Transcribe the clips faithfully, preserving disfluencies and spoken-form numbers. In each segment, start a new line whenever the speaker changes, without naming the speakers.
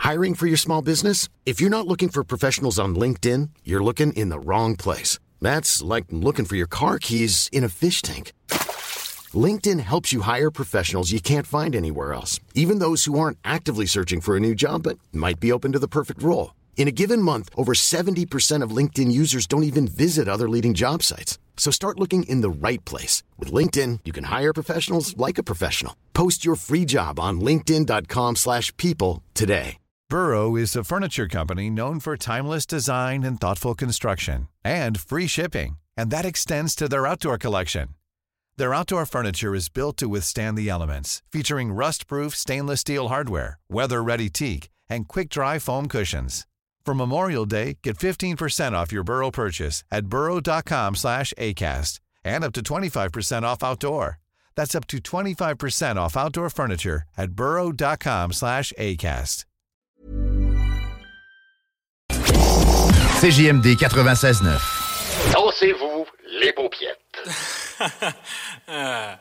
Hiring for your small business? If you're not looking for professionals on LinkedIn, you're looking in the wrong place. That's like looking for your car keys in a fish tank. LinkedIn helps you hire professionals you can't find anywhere else, even those who aren't actively searching for a new job but might be open to the perfect role. In a given month, over seventy percent of LinkedIn users don't even visit other leading job sites. So start looking in the right place. With LinkedIn, you can hire professionals like a professional. Post your free job on linkedin.com slash people today.
Burrow is a furniture company known for timeless design and thoughtful construction and free shipping, and that extends to their outdoor collection. Their outdoor furniture is built to withstand the elements, featuring rust-proof stainless steel hardware, weather-ready teak, and quick-dry foam cushions. For Memorial Day, get fifteen percent off your Burrow purchase at burrow.com slash ACAST and up to twenty-five percent off outdoor. That's up to twenty-five percent off outdoor furniture at burrow.com slash ACAST.
C J M D quatre-vingt-seize neuf.
Dansez-vous les paupiètes.
uh.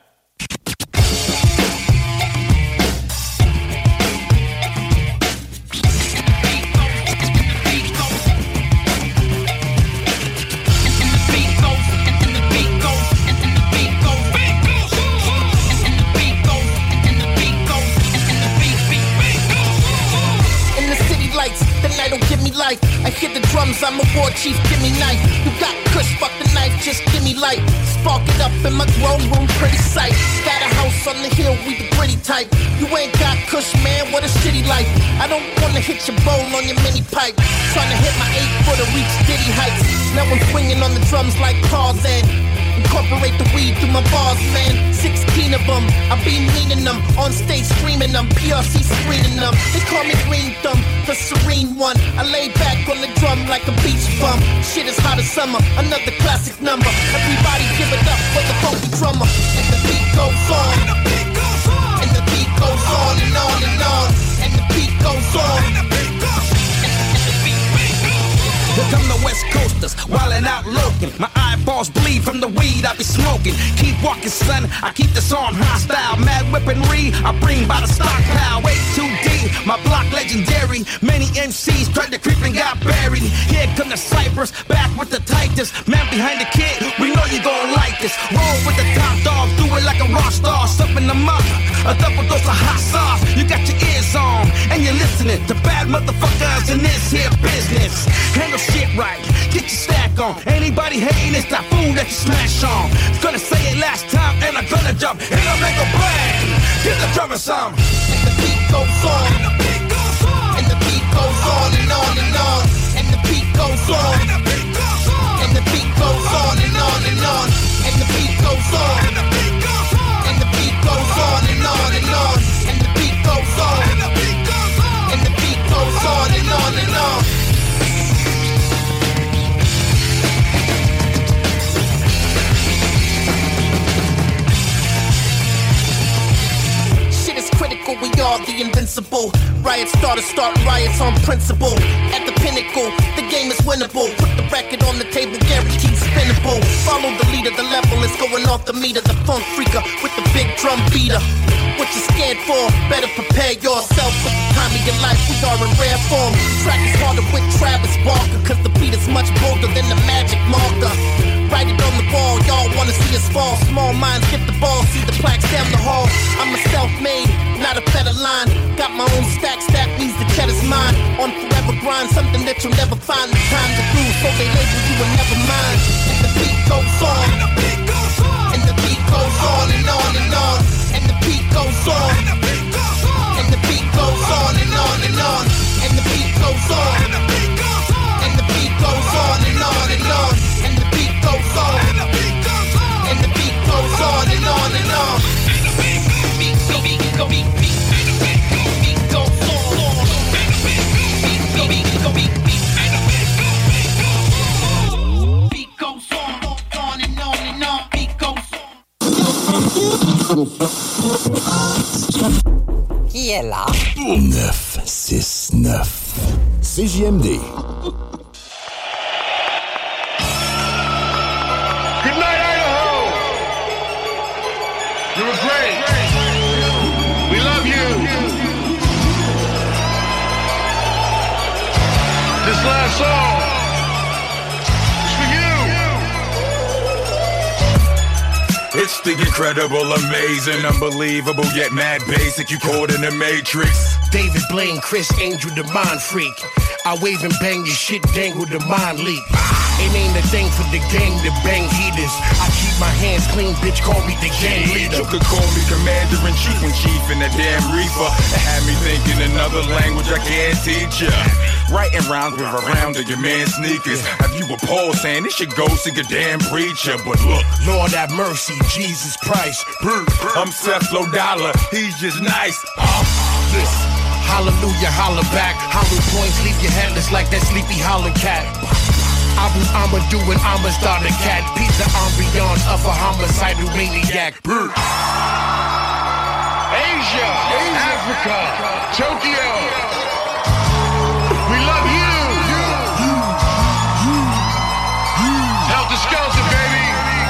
The night don't give me life. I hit the drums, I'm a war chief, give me knife. You got kush, fuck the knife, just give me light. Spark it up in my grown room, pretty sight. Got a house on the hill, we the gritty type. You ain't got kush, man, what a shitty life. I don't wanna hit your bowl on your mini pipe. Tryna hit my eight footer, reach diddy heights. Now I'm swinging on the drums like Tarzan. Incorporate the weed through my bars, man. Sixteen of them, I be meaning them. On stage screaming them, P R C screening them. They call me Green Thumb, the serene one. I lay back on the drum like a beach bum. Shit is hot as summer, another classic number. Everybody give it up for the funky drummer. And the beat goes on, and the beat goes on, and the beat goes on and on and on. And the beat goes on, and the beat goes on.
Here come the West Coasters, wildin' out looking. My eyeballs bleed from the weed I be smoking. Keep walking, son, I keep this arm hostile. Mad weaponry, I bring by the stockpile. Way too deep, my block legendary. Many M Cs tried to creep and got buried. Here come the Cypress, back with the tightest. Man behind the kid, we know you gon' like this. Roll with the top dog, do it like a rock star. Supping them up, a double dose of hot sauce. You got your ears on, and you're listening to bad motherfuckers in this here business. Handle shit right, get your stack on. Anybody hating, it's that fool that you smash on. Gonna say it last time, and I'm gonna jump. And I'll make a bang, get the drummer some.
And the beat goes on, and the beat goes on, and the beat goes on and on and on. And the beat goes on, and the beat goes on, and the beat goes on and on and on. And the beat goes on, and the beat goes on, and the beat goes on and on and on. And the beat goes on, and the beat goes on, and the beat goes on and on and on. Critical, we are the invincible. Riots starters start riots on principle. At the pinnacle, the game is winnable. Put the record on the table, guaranteed spinnable. Follow the leader, the level is going off the meter. The funk freaker with the big drum beater. What you scared for? Better prepare yourself with the time of your life. We are in rare form. Track is harder with Travis Barker, cause the beat is much bolder than the magic marker. Write it on the wall, y'all wanna see us fall. Small minds get the ball, see the plaques down the hall. I'm a self-made, not a better line. Got my own stacks, that means the cheddar's mine. On forever grind, something that you'll never find the time to do, so they label you and never mind. And the beat goes on, and the beat goes on, and the beat goes on and on and on. And the beat goes on, and the beat goes on, and the beat goes on and on and on. And the beat goes on, and the beat goes on, and the beat goes on and on and on. And the beat goes on, and the beat goes on, and the beat goes on and on and on. And the beat beat go beat go beat beat and the beat go beat goes on. And the beat beat go beat go beat beat and the beat go beat goes on. Beat goes on, on and on and on. Beat goes on.
Qui est là?
neuf six neuf C J M D.
Good night, Idaho. You were great. We love you.
It's the incredible, amazing, unbelievable, yet mad basic. You caught in the Matrix.
David Blaine, Chris Angel, the mind freak. I wave and bang your shit, dangle the mind leak. It ain't a thing for the gang to bang heaters. I keep my hands clean, bitch, call me the gang leader.
You could call me commander-in-chief when chief in that damn reefer. It had me thinking another language I can't teach ya. Writing rhymes with a round of your man's sneakers. Have you a Paul saying this should go see a damn preacher? But look,
Lord have mercy, Jesus Christ.
I'm Seth Low Dollar, he's just nice. Uh,
Listen, hallelujah, holler back. Hollow points leave your headless like that sleepy holler cat. Abu I'ma do an I'ma start a cat. Pizza ambiance of a homicidal maniac.
Asia, Asia, Africa, Tokyo. We love you. You, you, you, you. Helter Skelter, baby.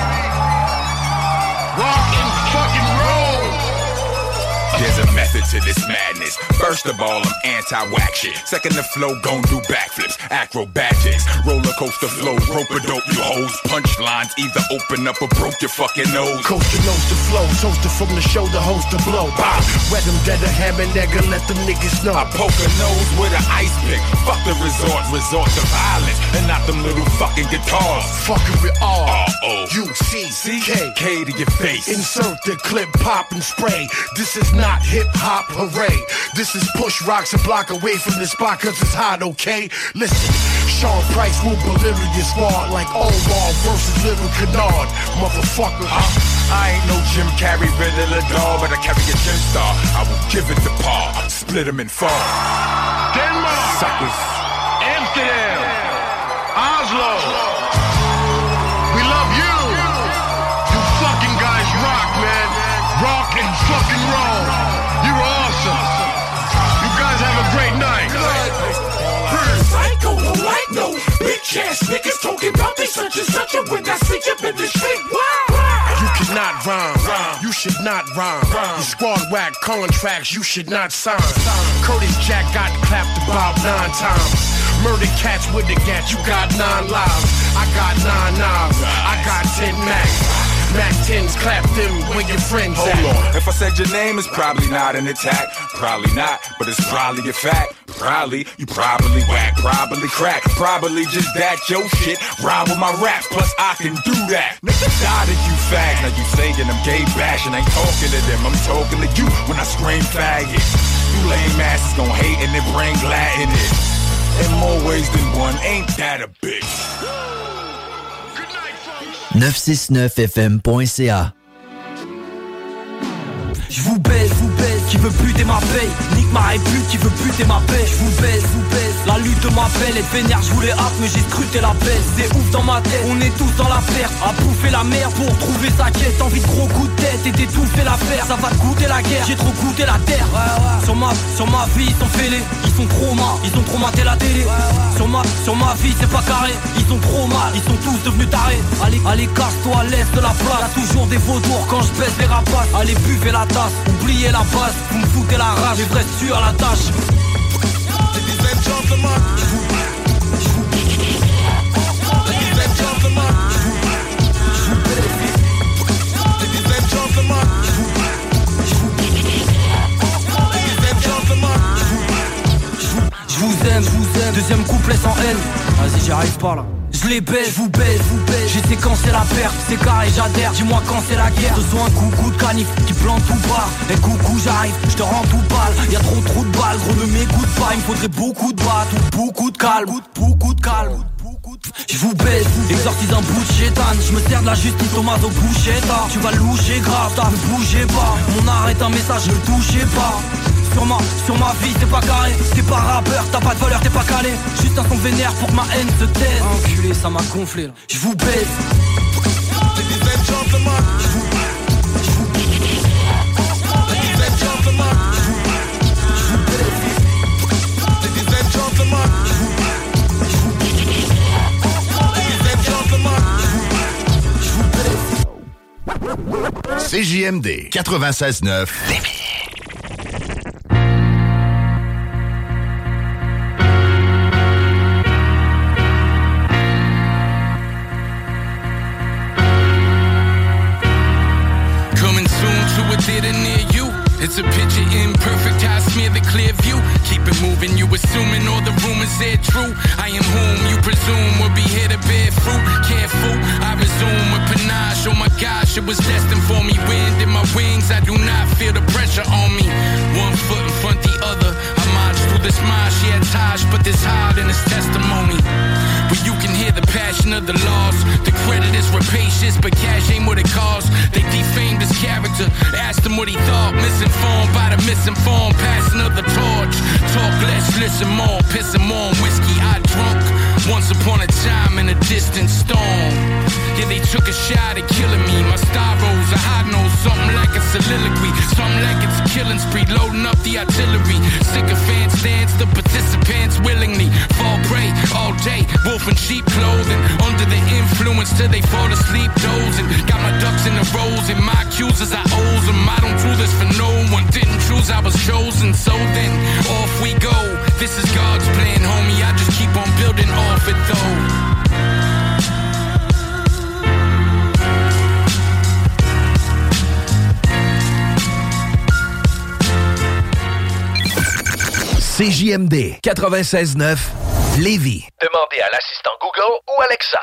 Rock and fucking roll.
There's a method to this madness. First of all, I'm anti-whack shit. Second, the flow gon' do backflips, acrobatics, roller coaster flow, rope-a-dope, you hoes. Punchlines either open up or broke your fucking nose.
Coast to nose to flow, toaster from the shoulder, host to blow. Bah, wet them dead a ham and nigga, let them niggas know.
I poke a nose with an ice pick. Fuck the resort, resort to violence, and not them little fucking guitars.
Fucking with R
R-O
U C K
K to your face.
Insert the clip, pop and spray. This is not hip-hop, hooray. This is push rocks a block away from the spot cause it's hot, okay? Listen, Sean Price will delirious smart like Omar versus Little Kennard. Motherfucker,
huh? I ain't no Jim Carrey, Riddler doll, but I carry a gym star. I will give it the paw, split him in four.
Denmark,
suckers.
Amsterdam, Oslo. We love you. You fucking guys rock, man. Rock and fucking roll. You're awesome. You guys have a great night.
Psycho, no like no bitch ass niggas talking about they such and such, and when I see you in the street, wow.
You cannot rhyme. rhyme. You should not rhyme. rhyme. You squad whack contracts you should not sign. sign. Curtis Jack got clapped about nine times. Murder cats with the gat, you got nine lives. I got nine knives. I got ten max. Mac tens, clap them when your friends
Hold
at.
on, if I said your name, it's probably not an attack. Probably not, but it's probably a fact. Probably, you probably whack, probably crack. Probably just that, your shit, rhyme with my raps, plus I can do that. Nigga died if you fag, now you saying I'm gay bashing. Ain't talking to them, I'm talking to you when I scream faggot. You lame asses gon' hate and then bring glad in it. In more ways than one, ain't that a bitch?
neuf cent soixante-neuf F M point C A.
J'vous baise, j'vous baise, qui veut buter ma paye. Nique ma répute, qui veut buter ma paix. J'vous baise, j'vous baise, la lutte m'appelle. Être vénère, j'vous les hâte, mais j'ai scruté la baisse. C'est ouf dans ma tête, on est tous dans la perte. À bouffer la merde pour trouver sa quête. Envie de gros coups de tête et d'étouffer l'affaire. Ça va te goûter la guerre, j'ai trop goûté la terre. Ouais, ouais. Sur ma, sur ma vie, ils sont fêlés. Ils sont trop mal, ils ont trop maté la télé. Ouais, ouais. Sur ma, sur ma vie, c'est pas carré. Ils sont trop mal, ils sont tous devenus tarés. Allez, allez, casse-toi, laisse de la place. Y'a toujours des vautours quand je baisse les rapaces. Allez, buvez la tasse. Oubliez la base, vous me foutez la rage, les vrais sur la tâche.
Ladies and gentlemen, ladies and gentlemen, ladies and gentlemen, ladies and gentlemen.
J'vous aime, j'vous aime. Deuxième couplet sans haine. Vas-y, j'y arrive pas là. Je les baise, vous baise, vous baise. Je sais quand c'est la perte, c'est carré, j'adhère. Dis-moi quand c'est la guerre. Ce soit un coucou de canif qui plante tout part. Et coucou, j'arrive, je te rends tout balle. Y'a trop trop de balles, gros ne m'écoute pas. Il me faudrait beaucoup de battes ou beaucoup de calme. Beaucoup de calme. Je vous baise, exorcise un bout de chétane. Je me sers de la justice, Thomas au bouchetta. Tu vas loucher grave, t'as ne bougez pas. Mon art est un message, ne le touchez pas. Sur ma, sur ma vie, c'est pas carré. T'es pas rappeur, t'as pas de valeur, t'es pas calé. Juste un son vénère pour que ma haine se taise. Enculé, ça m'a gonflé là. Je vous baise.
Ladies and gentlemen, je vous je vous Ladies and gentlemen, je vous baise. Ladies and gentlemen, je vous je vous Ladies and gentlemen, je vous
C J M D quatre-vingt-seize neuf.
to picture imperfect, I smear the clear view. Keep it moving, you assuming all the rumors are true. I am whom you presume will be here to bear fruit. Careful, I resume with panache. Oh my gosh, it was destined for me. Wind in my wings, I do not feel the pressure on me. One foot in front the other, I march through this marsh. Yeah, Taj put this hard in his testimony. But you can hear the passion of the loss. The credit is rapacious, but cash ain't what it costs. They defamed his character, asked him what he thought. Misinformed by the misinformed, passing of the torch. Talk less, listen more, pissing more on whiskey I drunk. Once upon a time in a distant storm. Yeah, they took a shot at killing me. My star rose, a high nose, something like a soliloquy. Something like it's a killing spree, loading up the artillery. Sycophants dance, the participants willingly fall prey all day. Wolf in sheep clothing, under the influence till they fall asleep dozing. Got my ducks in the rows and my accusers I owe them. I don't do this for no one, didn't choose, I was chosen. So then, off we go. This is God's plan, homie. I just keep on building off it though.
C J M D quatre-vingt-seize neuf Lévis.
Demandez à l'assistant Google ou Alexa.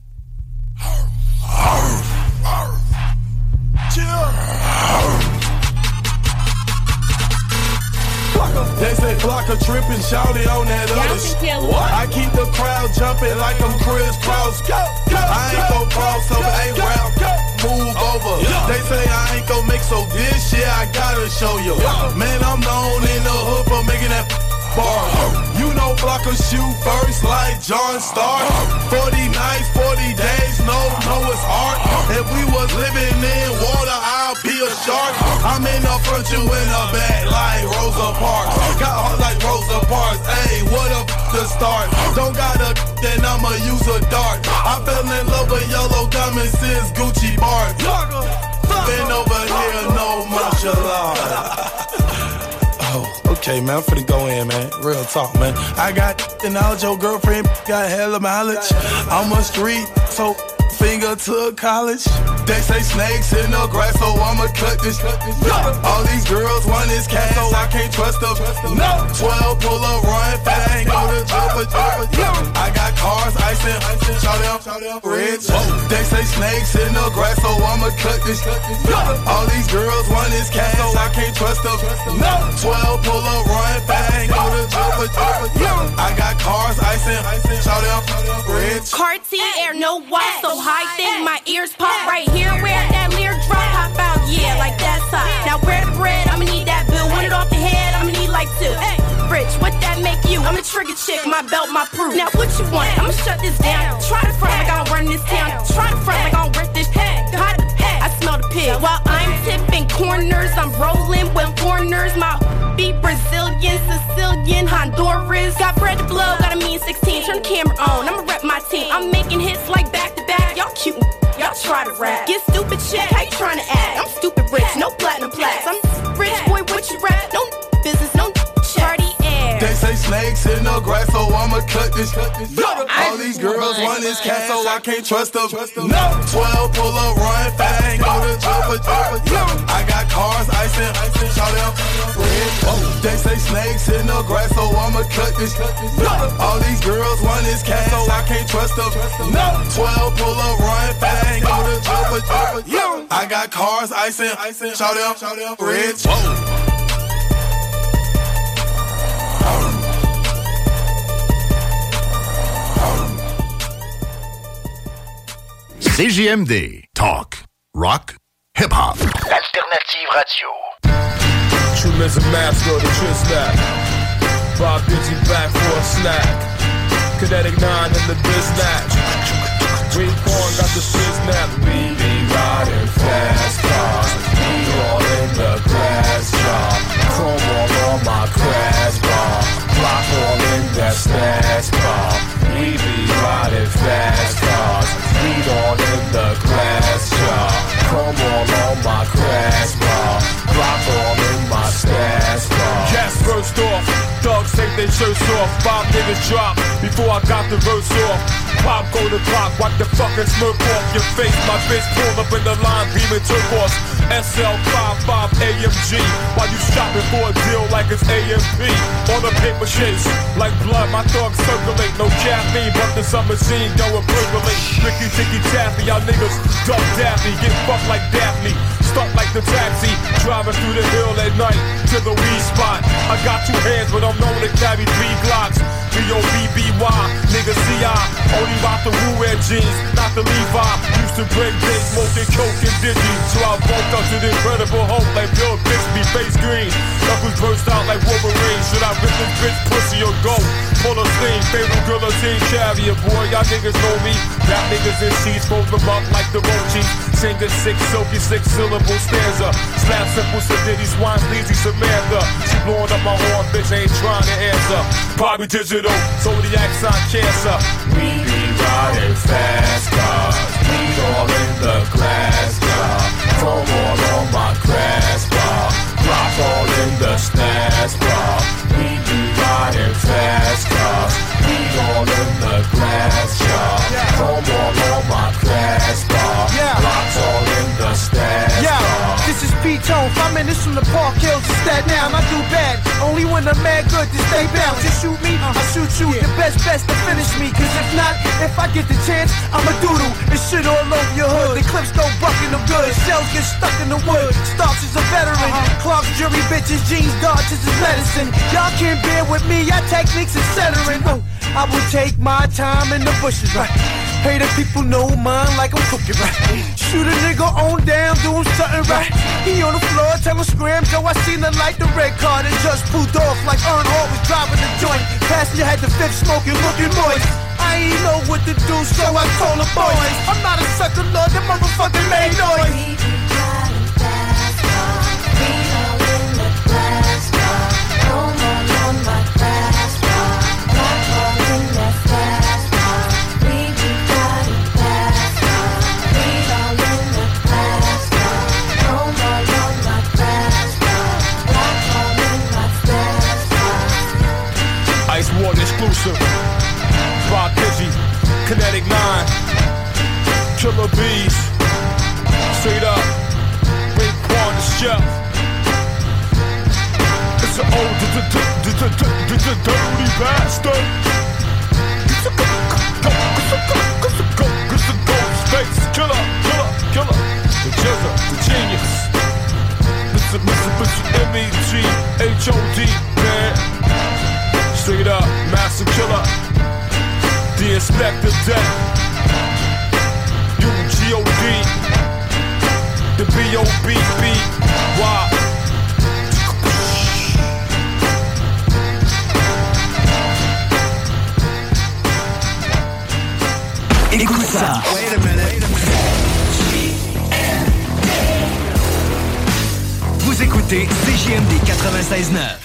They say block a trippin', shout it on that other shit. I keep the crowd jumping like I'm Chris Cross. I ain't gon' cross over, ain't round, move over. They say I ain't gon' make so this year I gotta show you. Man, I'm known in the hood for making that bar. You know block a shoe first like John Stark. forty nights, forty days, no, no it's art. If we was living in water, I'll be a shark. I'm in the front, you in the back like Rosa Parks. Got heart like Rosa Parks, ayy, what a f*** to start. Don't got a then I'ma use a dart. I fell in love with yellow diamonds since Gucci Bart. Been over here, no martial law. Oh, okay, man, I'm finna go in, man. Real talk, man. I got the knowledge, your girlfriend got hella mileage. I'm a street, so finger to college. They say snakes in the grass, so I'ma cut this. All these girls want this cash, so I can't trust them. twelve pull up, run fast, ain't go to jail for jail. I got cars, icing, shout out, rich. They say snakes in the grass, so I'ma cut this. All these girls want this cash, so I can't trust them. twelve pull up, run fast, ain't go to jail for jail. I got cars, icing, shout out, rich.
Cartier, no watch, so high thing, my ears pop right here. Where that leer drop, hop out, yeah, like that's hot. Now where the bread, I'ma need that bill. Want it off the head, I'ma need like two. Hey, Rich, what that make you? I'm a trigger chick, my belt, my proof. Now what you want? I'ma shut this down. Try to front like I don't run this town. Try to front like I don't rip this head. Hot, I smell the pig. While I'm tipping corners, I'm rolling with foreigners. My be Brazilian, Sicilian, Honduras. Got bread to blow, got a mean sixteen. Turn the camera on, I'ma rep my team. I'm making hits like back to back. Y'all cute, y'all try to rap. Get stupid shit, how you trying to act? I'm stupid rich, no platinum plaques. I'm rich boy, what you rap? No business, no party air.
They say snakes in the grass, so I'ma cut this. All these girls want this cat, so I can't trust them. twelve pull up, run fast, ain't go to jail for jail. I got cars, icing, shout out, rich. They say snakes in the grass, so I'ma cut this. All these girls want this cat, so I can't trust them. twelve pull up, run fast, ain't go to jail for jail. I got cars, icing, shout out, rich.
C J M D. Talk. Rock. Hip-hop.
Alternative radio.
True as a master of the true snap. Bob Digi back for a snack. Kinetic nine in the biz snatch. Green corn got the shit snap. We be riding fast cars. We all in the glass jar. Chrome all on my crash bar. Block all in that stash bar. We be riding fast cars. Weed all in the glass jar. Chrome all on my crash bar. Block all in my stash bar. Gas burst off. Dogs think they they shirts off. Five niggas drop before I got the verse off. Pop go the clock, wipe the fucking smirk off your face. My bitch pulled up in the line, beaming turquoise. S L fifty-five A M G. While you shopping for a deal like it's A M P. On the paper chase, like blood, my thugs circulate. No caffeine, but the summer scene going percolate. Ricky, Ticky, Taffy, y'all niggas duck Daffy. Get fucked like Daphne. Stuck like the taxi, driving through the hill at night to the weed spot. I got two hands, but I'm known to carry three Glocks. B O B B Y, nigga C I. Only rock the Wu-Wear jeans, not the Levi. Used to break days, smoking coke and dizzy. So I woke up to the Incredible Hulk like Bill Bixby, face green. Knuckles burst out like Wolverine. Should I rip this bitch pussy or go? Pull a sling, favorite guillotine carrier, boy. Y'all niggas know me. Rap niggas in sheets, fold them up like the roaches. Sing a six, silky, six syllable stanza. Slap simple, Sadiddy, Swine, Sleazy, Samantha. She blowing up my horn, bitch, ain't trying to answer. Bobby Digital, zodiac sign cancer. We be riding fast cars. We all in the glass car. Chrome all on my grass bar. Rock all in the snares bar. We be riding fast cars. We all in the glass car. Chrome all on my grass bar. Rock all in the snares
yeah.
bar.
This is P-Tone, five minutes from the Park Hills to Staten Island. I do bad, only when I'm mad good to stay bound. Just shoot me, I shoot you, the best best to finish me. Cause if not, if I get the chance, I'ma doodle and shit all over your hood. The clips go bucking them good, shells get stuck in the wood. Starks is a veteran, uh-huh. Clark's jury bitches, jeans, dodges is medicine. Y'all can't bear with me, y'all techniques is centering. Oh, I will take my time in the bushes, right? Pay the people no mind like I'm cooking, right? Shoot a nigga on down, do him something right. He on the floor, tell him scram, Joe, I seen the light, the red car that just pulled off like Earn Hall was driving the joint. Passenger had the fifth smoking, looking moist. I ain't know what to do, so I told the boys, I'm not a sucker, Lord, that motherfucker made noise.
Ice Water exclusive. Rock Digi, Kinetic nine, Killer Bees, straight up, Ray Quan the chef. It's an old dirty bastard. It's a ghost face killer, killer, killer. The Jizzer, the genius. It's a Mitsubishi M E G H O D, man. Straight up, master killer. The Inspector Deck. U G O D. The B O B B Y.
Écoute ça.
Wait a minute.
Vous écoutez C J M D quatre-vingt-seize neuf.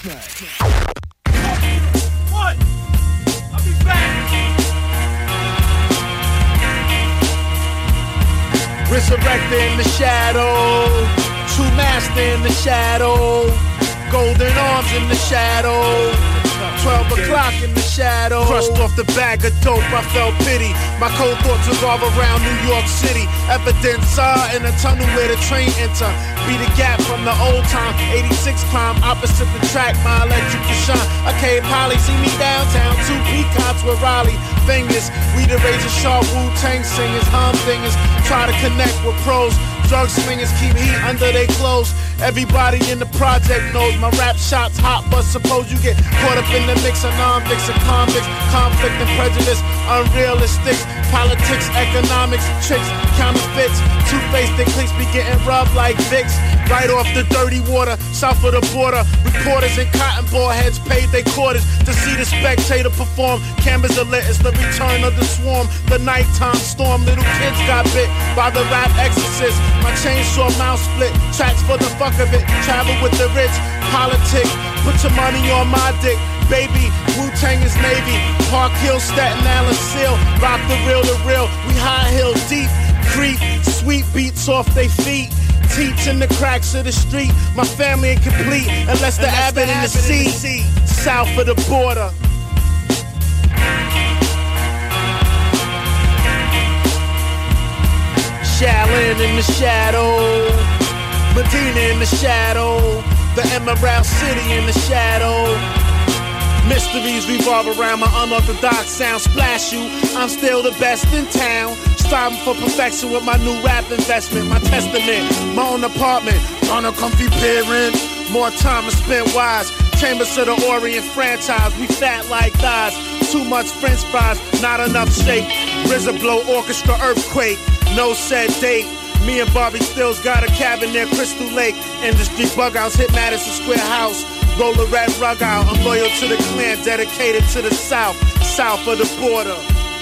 Resurrected in the shadow, true master in the shadow, golden arms in the shadow, twelve o'clock in the shadow. Crushed off the bag of dope, I felt pity. My cold thoughts revolve around New York City. Evidence saw in a tunnel where the train enter. Be the gap from the old time, eighty-six climb opposite the track, my electric to shine. Okay, Polly, see me downtown, two peacocks with Raleigh fingers. We the razor sharp Wu-Tang singers, humdingers. Try to connect with pros. Drug slingers keep heat under their clothes. Everybody in the project knows my rap shots hot, but suppose you get caught up in the mix of non-mix and convicts, conflict and prejudice, unrealistic politics, economics, tricks, counterfeits, two-faced their cliques be getting rubbed like Vicks, right off the dirty water, south of the border. Reporters and cotton ball heads paid their quarters to see the spectator perform. Cameras are lit, it's the return of the swarm, the nighttime storm. Little kids got bit by the rap exorcist. My chainsaw mouth split, tracks for the fuck of it. Travel with the rich, politic. Put your money on my dick, baby. Wu-Tang is Navy. Park Hill, Staten Island Seal. Rock the real, the real. We high hill deep, creep. Sweet beats off they feet. teats in the cracks of the street. My family incomplete unless the Abbott in the sea. South of the border. Shaolin in the shadow, Medina in the shadow, the Emerald City in the shadow. Mysteries revolve around my unorthodox sound. Splash you, I'm still the best in town. Striving for perfection with my new rap investment. My testament, my own apartment, on a comfy parent. More time to spend wise. Chambers of the Orient franchise. We fat like thighs. Too much French fries, not enough shake. R Z A blow orchestra earthquake. No set date. Me and Bobby Stills got a cabin near Crystal Lake. Industry bug outs hit Madison Square House. Roll a red rug out. I'm loyal to the clan, dedicated to the South, south of the border.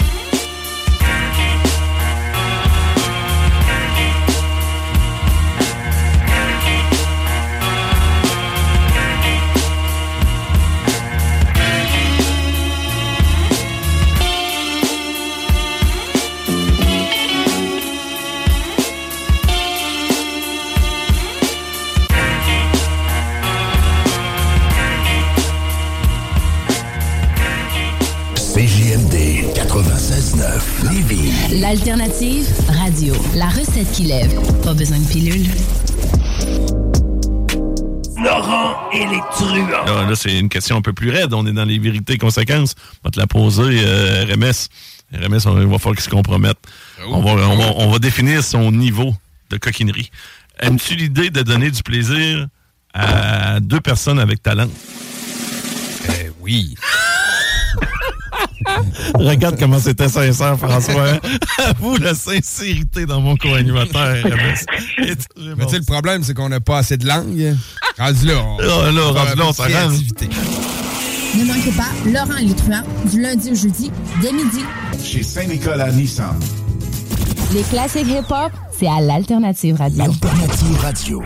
C J M D quatre-vingt-seize neuf Lévis.
L'alternative radio. La recette qui lève. Pas besoin de pilule.
Laurent et les truands.
Là, là, c'est une question un peu plus raide. On est dans les vérités conséquences. On va te la poser, euh, R M S. R M S, on, il va falloir qu'il se compromette. Oh, on, va, on, va, on va définir son niveau de coquinerie. Aimes-tu l'idée de donner du plaisir à deux personnes avec talent?
Euh, oui.
Regarde comment c'était sincère, François. Hein? Avoue la sincérité dans mon co-animateur.
Mais tu sais, le problème, c'est qu'on n'a pas assez de langue. Rendu là, on,
là, là, rendu là, on s'arrange.
Ne manquez pas Laurent et les truands du lundi au jeudi dès midi.
Chez Saint-Nicolas Nissan.
Les classiques hip-hop, c'est à l'Alternative Radio.
L'Alternative Radio.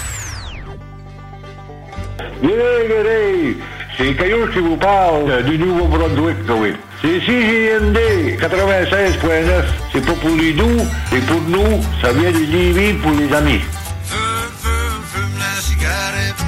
Yeah, c'est Caillou qui vous parle du Nouveau-Brunswick, oui. C'est C J M D quatre-vingt-seize neuf. C'est pas pour les doux, c'est pour nous. Ça vient de Lévis pour les amis.
Fume, fume, fume la cigarette.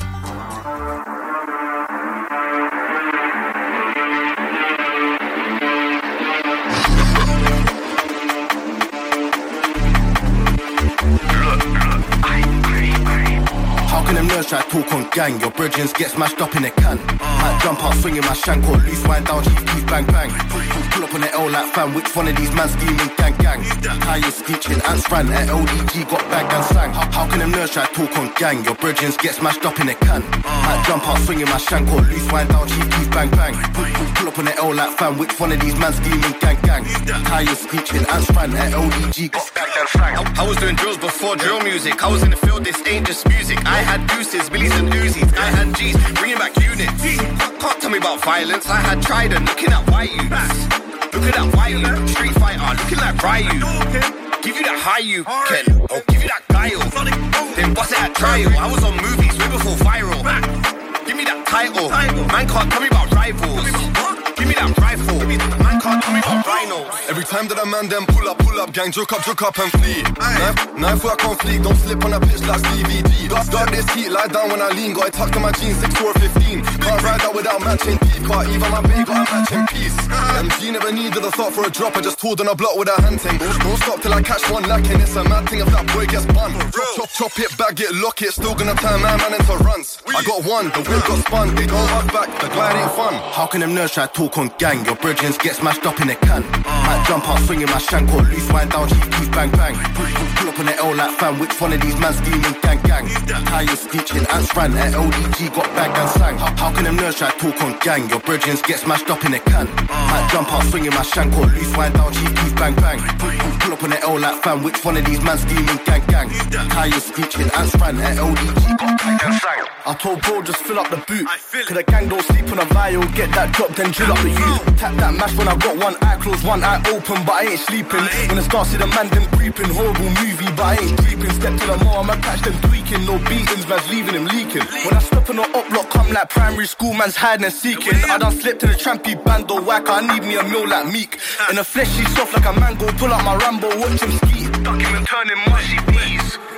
How can them nerds try to talk on gang? Your brethren get smashed up in a can. Might jump out swinging my shank or loose wind down, chief keys bang bang. Pull up on the L like fam, which one of these man scheming gang gang? Tires screeching, ants ran at L D G, got bagged and sang. How, how can them nerds try to talk on gang? Your brethren get smashed up in a can. Might jump out swinging my shank or loose wind down, chief keys bang bang. Pull, pull, pull up on the L like fam, which one of these man scheming gang gang? Tires screeching, ants ran at L D G, got bagged and sang.
I, I was doing drills before drill music. I was in the field, this ain't just music. I had deuces, billies and Uzis. I had G's, bringing back units. Can't, can't tell me about violence. I had Trident, looking at white youths. Looking at white youths. Street Fighter, looking like Ryu. Give you that high you can, or give you that guile. Then bust it at trial. I was on movies way before viral. Give me that title. Man can't tell me about rivals. Give me that rifle. Man can't tell me about rhinos.
Every time that a man them pull up, pull up, gang, joke up, joke up and flee. Knife, knife work on fleek, don't slip on a pitch like Stevie D. Start this heat, lie down when I lean, got it tucked in my jeans, six four fifteen. Can't ride out without matching teeth, can't even my babe got a matching piece. M G never needed a thought for a drop, I just told on a block with a hand thing. Don't, don't stop till I catch one lacking, it's a mad thing if that boy gets bun. Chop, chop, chop it, bag it, lock it, still gonna turn my man into runs. I got one, the wheel got spun, they don't hug back, the glide ain't fun.
How can them nerds try to talk on gang? Your brethren get smashed up in a can. Might jump out swinging my shank or loose wind down, chief keys bang bang. Pull, pull, pull up on the L like fam, which one of these man scheming gang gang? Tires screeching, ants ran at L D G, got bagged and sang. How, how can them nerds try to talk on gang? Your brethren get smashed up in a can. Might jump out swinging my shank or loose wind down, chief keys bang bang. Pull, pull, pull up on the L like fam, which one of these man scheming gang gang? Tires screeching, ants ran at L D G, got bagged and sang. I told bro just fill up the boot, cause the gang don't sleep on a vial. Get that drop then drill up the youth. Tap that mash when I got one eye closed, one eye open, but I ain't sleeping. When I start see the man them creeping, horrible movie, but I ain't creeping. Step to the mall, I'ma catch them tweaking. No beatings, man's leaving them leaking. When I step on the up block, come like primary school, man's hiding and seeking. I done slipped in a trampy band or whack, I need me a meal like Meek. In the flesh, she's soft like a mango, pull out my Rambo, watch him ski. Duck him and turn him mushy, please.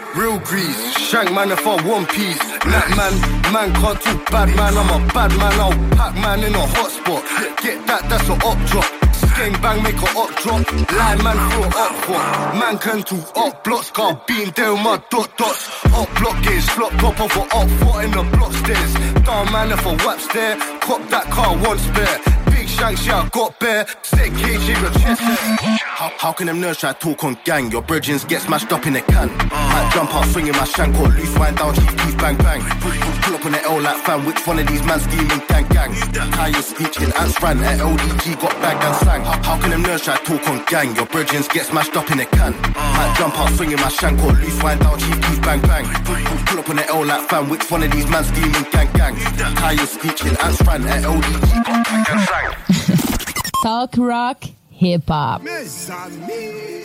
real grease. Shank man if I one piece. That man, man can't talk bad man. I'm a bad man, I'll pack man in a hot spot. Get that, that's a up drop. Gang bang, make a up drop. Line man for a up what? Man can do up blocks. Got being there with my dot dots. Up block gaze, flop top of a up foot in the block stairs. Down man if I whaps there. Cop that car once spare. Shanks, yeah, I got bare. Stick cage, shake your chest. How, how can them nerds try to talk on gang? Your bridgings get smashed up in a can. I jump out, swinging my shank or loose, wind down, chief, keys, bang, bang. Pull, pull, pull up on the L like fan. Which one of these man scheming, gang, gang? Tires screeching, ants ran. At L D G got bagged and sang. How, how can them nerds try to talk on gang? Your bridgings get smashed up in a can. I jump out, swinging my shank or loose, wind down, chief, keys, bang, bang. Pull, pull, pull up on the L like fan. Which one of these man scheming, gang, gang? Tires screeching, ants ran. At L D G got bagged and sang.
Talk rock, hip hop.
Mes amis.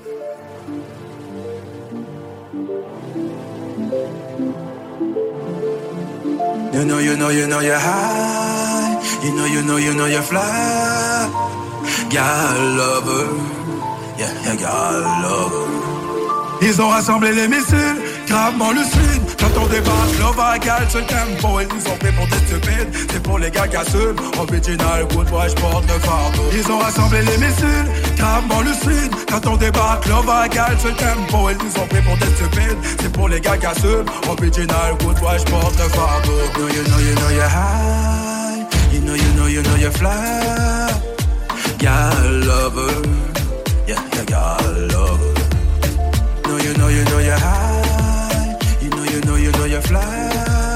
You know, you know, you know you're high. You know, you know, you know you're fly. Gal lover. Yeah, yeah, gal lover. Ils ont rassemblé les missiles, gravement lucide. Quand on débarque, love à gal sur le tempo. Ils nous ont pris pour des stupides. C'est pour les gars casseux. Original, good boy, j'porte le fardeau. Ils ont rassemblé les missiles, gravement lucide. Quand on débarque, love à gal sur le tempo. Ils nous ont pris pour des stupides. C'est pour les gars casseux. Original, good boy, j'porte le fardeau. You know, you know, you know you're high. You know, you know, you know you're fly. Gal lover. Yeah, yeah, gal lover. You know, you know you're high. You know, you know, you know you're fly.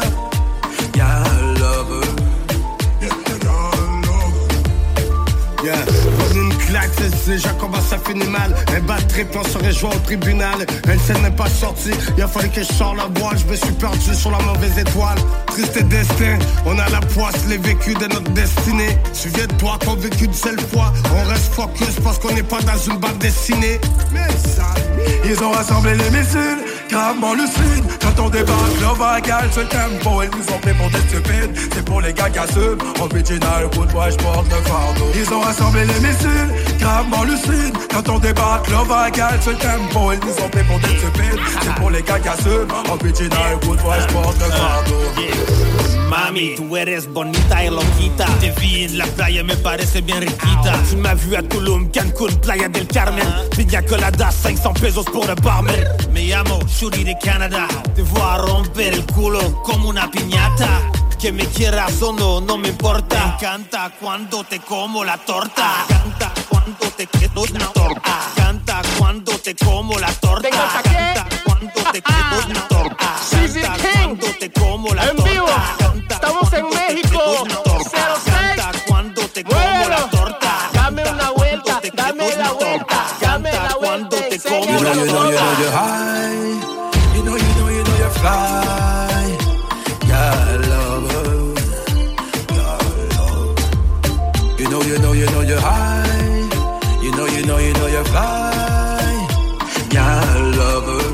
Yeah, lover. Yeah, yeah, lover.
Yeah, comme une claque, c'est déjà comment ça finit mal. Un bad trip, on se rejoint au tribunal. Elle s'en n'est pas sortie, il a fallu que je sors la boîte. Je me suis perdu sur la mauvaise étoile. Triste destin, on a la poisse, les vécus de notre destinée. Souviens-toi qu'on vécu une seule fois. On reste focus parce qu'on n'est pas dans une bande dessinée. Mais ça,
ils ont rassemblé les missiles, gravement lucide. Quand on débarque, love à gal sur le tempo. Ils nous ont pris pour des stupides. C'est pour les gars casseux. Original, good boy, j'porte le fardeau. Ils ont rassemblé les missiles, gravement lucide. Quand on débarque, love à gal sur le tempo. Ils nous ont pris pour des stupides. C'est pour les gars casseux. Original, good boy, j'porte le fardeau.
Mami, tú eres bonita y loquita. Te vi en la playa, me parece bien riquita. Tu m'as vu à Tulum, Cancún, Playa del Carmen. Pina colada, cinq cents pesos pour le barman. Me llamo Shuri de Canada. Te voy a romper el culo como una piñata. Que me quieras o no, no me importa. Me encanta cuando te como la torta. Me encanta cuando te quedo una torta. Me encanta cuando te como la torta. Me encanta cuando te quedo una torta. Me encanta cuando te como la torta.
Estamos en México, cero seis.
Cuando te como la torta.
Dame una vuelta, dame la vuelta, dame la vuelta.
You know, you know, you know you're high. You know, you know, you know you're fly. Yeah, lover. Yeah, love. You know, you know, you know you're high. You know, you know, you know you're fly. Yeah, lover.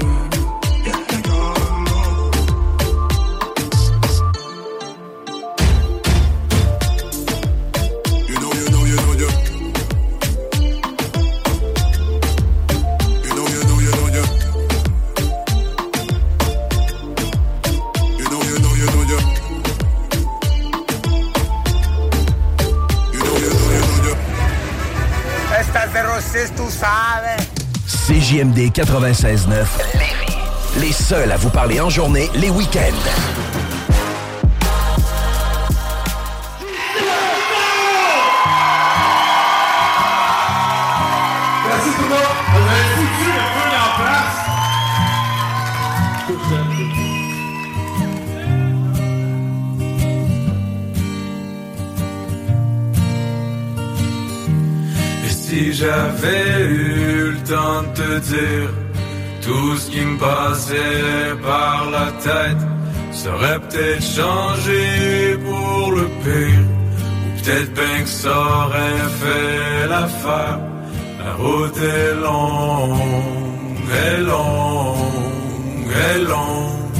Tú sabes.
C J M D quatre-vingt-seize neuf Lévis. Les seuls à vous parler en journée, les week-ends.
Merci tout le monde. On a foutu le feu en place.
Si j'avais eu le temps de te dire tout ce qui me passait par la tête, ça aurait peut-être changé pour le pire, ou peut-être bien que ça aurait fait l'affaire. La route est longue, est longue, est longue.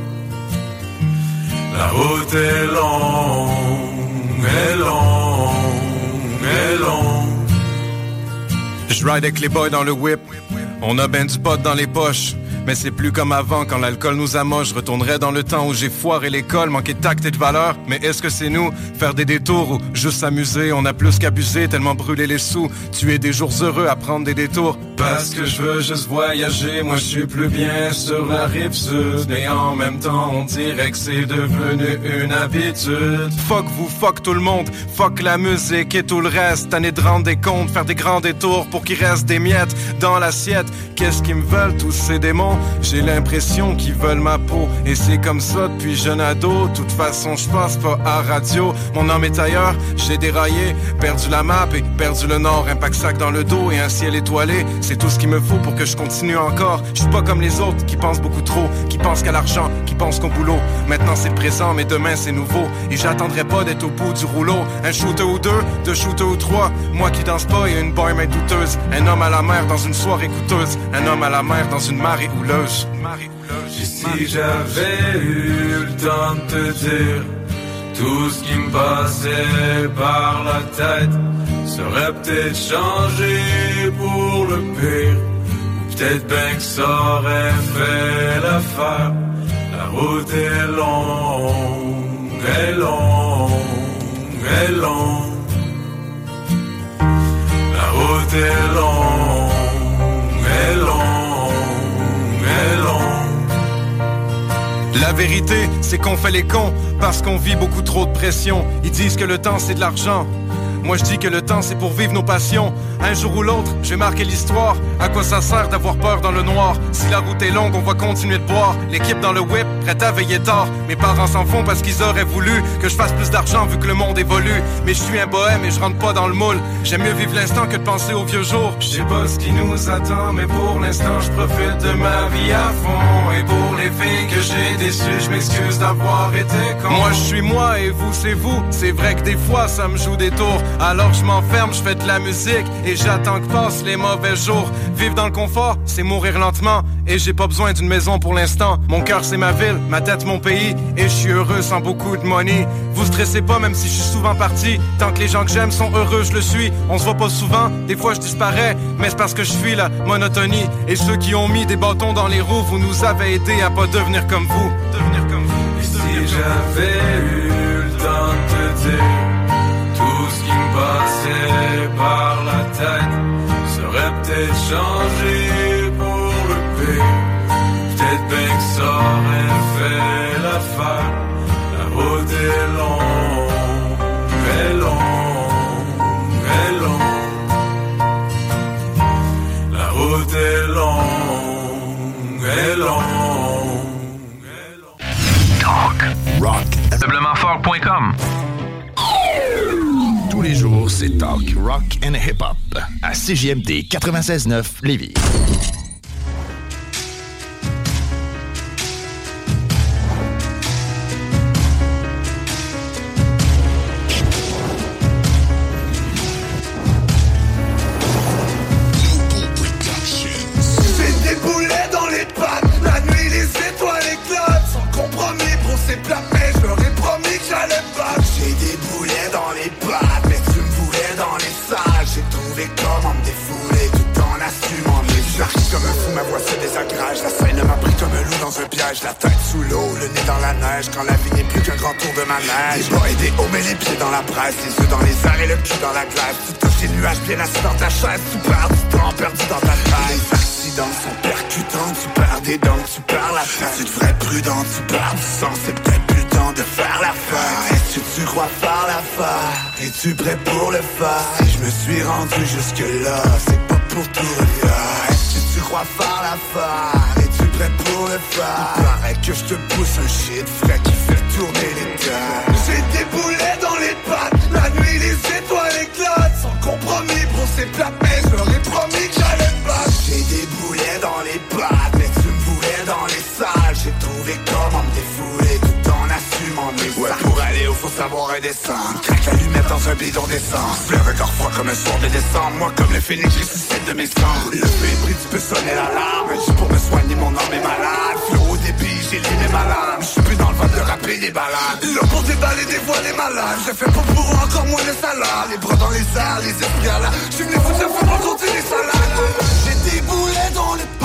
La route est longue, est longue, est longue.
Je ride avec les boys dans le whip, on a ben du pot dans les poches.
Mais c'est plus comme avant, quand l'alcool nous amoche. Je retournerai dans le temps où j'ai foiré l'école, manqué de tact et de valeur. Mais est-ce que c'est nous, faire des détours ou juste s'amuser? On a plus qu'abusé, tellement brûlé les sous. Tuer des jours heureux à prendre des détours. Parce que je veux juste voyager, moi je suis plus bien sur la rive sud. Et en même temps on dirait que c'est devenu une habitude. Fuck vous, fuck tout le monde, fuck la musique et tout le reste. Tanné de rendre des comptes, faire des grands détours pour qu'il reste des miettes dans l'assiette. Qu'est-ce qu'ils me veulent tous ces démons? J'ai l'impression qu'ils veulent ma peau. Et c'est comme ça depuis jeune ado. Toute façon je passe pas à radio. Mon âme est ailleurs, j'ai déraillé, perdu la map et perdu le nord. Un pack sac dans le dos et un ciel étoilé. C'est tout ce qu'il me faut pour que je continue encore. Je suis pas comme les autres qui pensent beaucoup trop, qui pensent qu'à l'argent, qui pensent qu'au boulot. Maintenant c'est le présent mais demain c'est nouveau. Et j'attendrai pas d'être au bout du rouleau. Un shooter ou deux, deux shooters ou trois. Moi qui danse pas et une barmaid douteuse. Un homme à la mer dans une soirée coûteuse. Un homme à la mer dans une marée houleuse.
Et si j'avais eu le temps de te dire tout ce qui me passait par la tête, serait peut-être changé pour le pire. Ou peut-être bien que ça aurait fait l'affaire. La route est longue, est longue, est longue. La route est longue, est longue, est longue.
La vérité, c'est qu'on fait les cons parce qu'on vit beaucoup trop de pression. Ils disent que le temps c'est de l'argent. Moi je dis que le temps c'est pour vivre nos passions. Un jour ou l'autre, je vais marquer l'histoire. À quoi ça sert d'avoir peur dans le noir? Si la route est longue, on va continuer de boire. L'équipe dans le whip, prête à veiller tard. Mes parents s'en font parce qu'ils auraient voulu que je fasse plus d'argent vu que le monde évolue. Mais je suis un bohème et je rentre pas dans le moule. J'aime mieux vivre l'instant que de penser au vieux jour.
Je sais pas ce qui nous attend, mais pour l'instant je profite de ma vie à fond. Et pour les filles que j'ai déçues, je m'excuse d'avoir été con.
Moi je suis moi et vous c'est vous. C'est vrai que des fois ça me joue des tours. Alors je m'enferme, je fais de la musique et j'attends que passent les mauvais jours. Vivre dans le confort, c'est mourir lentement. Et j'ai pas besoin d'une maison pour l'instant. Mon cœur c'est ma ville, ma tête mon pays. Et je suis heureux sans beaucoup de money. Vous stressez pas même si je suis souvent parti. Tant que les gens que j'aime sont heureux, je le suis. On se voit pas souvent, des fois je disparais. Mais c'est parce que je fuis la monotonie. Et ceux qui ont mis des bâtons dans les roues, vous nous avez aidés à pas devenir comme vous. Devenir comme vous.
Et si j'avais eu le temps de te dire tout ce qui me passait par la tête, serait peut-être changé pour le pire. Peut-être bien que ça aurait fait l'affaire. La route est longue, est longue, est longue. La route est longue, est longue, est longue.
Talk, rock,
Simplement fort point com.
Tous les jours, c'est Talk, rock and hip-hop à C J M D quatre-vingt-seize neuf Lévis.
J'ai des boulets dans les pattes, la nuit les étoiles éclatent. Sans compromis, bro, c'est plat, mais je leur ai promis que j'allais battre. J'ai des boulets dans les pattes, mais tu me voulais dans les salles. J'ai trouvé comment me défouler tout en assumant mes J'arrive comme un fou, ma voix se désagrage. La scène m'a pris comme un loup dans un piège. La tête sous l'eau, le nez dans la neige. Quand la vie n'est plus qu'un grand tour de manège. Des bas et des hauts, mais les pieds dans la presse. Les yeux dans les airs et le cul dans la glace. Tu touches les nuages bien assis dans ta chaise. Tu perds du temps perdu dans ta tête. Les accidents sont percutants. Tu perds des dents, tu perds la tête. Tu devrais être prudent, tu perds du sang. C'est peut-être plus le temps de faire la fête. Est-ce que tu crois faire l'affaire? Es-tu prêt pour le faire? Si je me suis rendu jusque-là, c'est pas pour tout refaire. Est-ce que tu crois faire l'affaire? Es-tu prêt pour le faire? Il paraît que je te pousse un shit frais qui fait tourner les terres. J'ai des boulets dans les pattes, la nuit les étoiles éclatent. Sans compromis, bro, c'est plat, mais je leur ai promis que j'allais me battre. J'ai des boulets dans les pattes, mais tu me voulais dans les salles. J'ai trouvé comment me défouler tout en assumant mes ouais, sacs. Pour aller où faut savoir redescendre. Craque l'allumette dans un bidon d'essence. Le regard froid comme un soir de décembre. Moi comme le phénix, je ressuscite de mes cendres. Le feu est pris, tu peux sonner l'alarme. Juste pour me soigner, mon âme est malade. Flot au débit, j'ai les mes malades. Je suis plus dans le vent de rapper des balades. Là pour déballer des voix des malades. Je fais pas pour eux, encore moins de salade. Les bras dans les airs, les esprits à la. Je suis venu foutre la femme pour compter les salades. J'ai des boulets dans les pattes.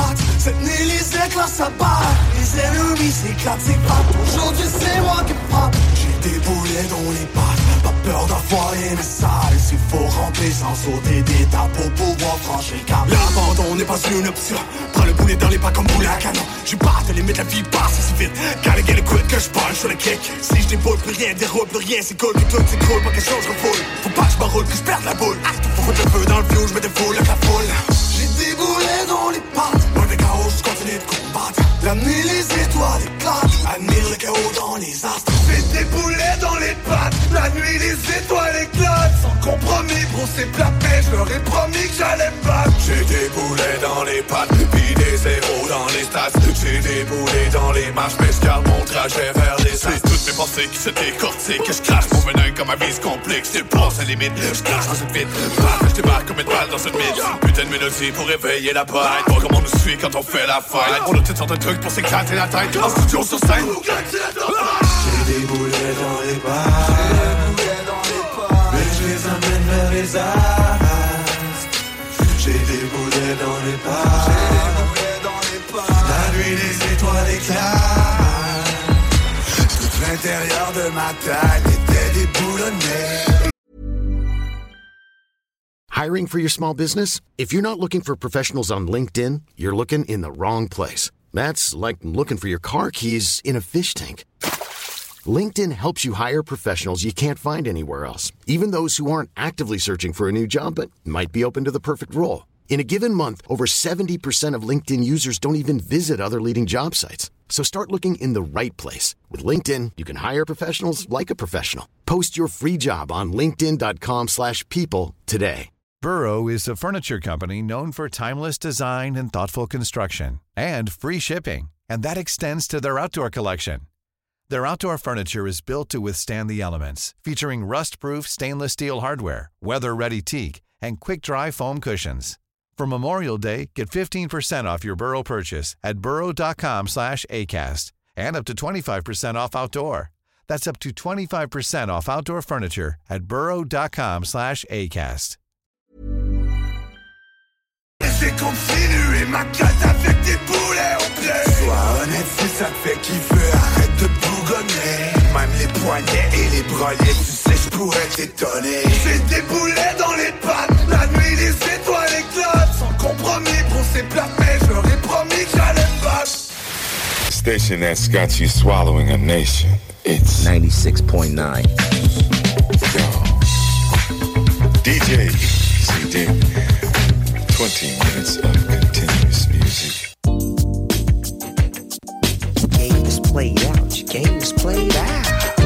Cette nuit les éclats s'abattent, les ennemis s'éclatent, c'est pas aujourd'hui c'est moi qui frappe. J'ai des boulets dans les pattes, pas peur d'envoyer mes salles. S'il faut ramper sans sauter d'étape pour pouvoir franchir le cap. L'abandon n'est pas une option, prends le boulet dans les pas comme boulet à canon. J'suis pas à te limite, la vie passe si vite. Quand les gars l'écoutent que j'punch sur le kick. Si j'déboule plus rien, déroule plus rien, c'est cool que tout s'écroule, pas quelque chose refoule. Faut pas que j'm'enroule, que j'perde la boule. Faut foutre le feu dans le vieux, j'me défoule avec la foule. J'ai des boulets dans les pattes, loin des chaos, j'continue de combattre. La nuit les étoiles éclatent, admire le chaos dans les astres. J'ai des boulets dans les pattes, la nuit les étoiles éclatent. Sans compromis, bro c'est plat mais je leur ai promis que j'allais me battre. J'ai des boulets dans les pattes, puis des zéros dans les stats. J'ai des boulets dans les marches, mais j'garde mon trajet vers les astres. C'est toutes mes pensées qui se décortiquent, que je crache mon venin comme ma vie se complique. Je dépasse la limite, je crache dans une vite. Je débarque comme une balle dans une mine. Putain de mélodie pour réveiller la bête. Pas comment on nous suit quand on fait la fête. On a toutes sortes de trucs pour s'éclater la tête. En studio sur scène. J'ai des boulets dans les pattes, mais je les amène vers les astres. J'ai des boulets dans les pattes, la nuit les étoiles éclatent. Tout l'intérieur de ma tête était déboulonné.
Hiring for your small business? If you're not looking for professionals on LinkedIn, you're looking in the wrong place. That's like looking for your car keys in a fish tank. LinkedIn helps you hire professionals you can't find anywhere else, even those who aren't actively searching for a new job but might be open to the perfect role. In a given month, over seventy percent of LinkedIn users don't even visit other leading job sites. So start looking in the right place. With LinkedIn, you can hire professionals like a professional. Post your free job on linkedin dot com slash people today.
Burrow is a furniture company known for timeless design and thoughtful construction, and free shipping, and that extends to their outdoor collection. Their outdoor furniture is built to withstand the elements, featuring rust-proof stainless steel hardware, weather-ready teak, and quick-dry foam cushions. For Memorial Day, get fifteen percent off your Burrow purchase at burrow dot com slash acast, and up to twenty-five percent off outdoor. That's up to twenty-five percent off outdoor furniture at burrow dot com slash acast.
J'ai continué ma quête avec des boulets au blé. Sois honnête si ça te fait kiffer, arrête de bougonner. Même les poignets et les brelets, tu sais j'pourrais t'étonner. J'ai des boulets dans les pattes, la nuit les étoiles éclatent. Sans compromis, bro c'est plat mais je leur ai promis que j'allais me battre.
Station that's got you swallowing a nation. It's
ninety-six point nine.
Yo. D J C D. twenty minutes of continuous music.
Your game is played out. Your game is played out.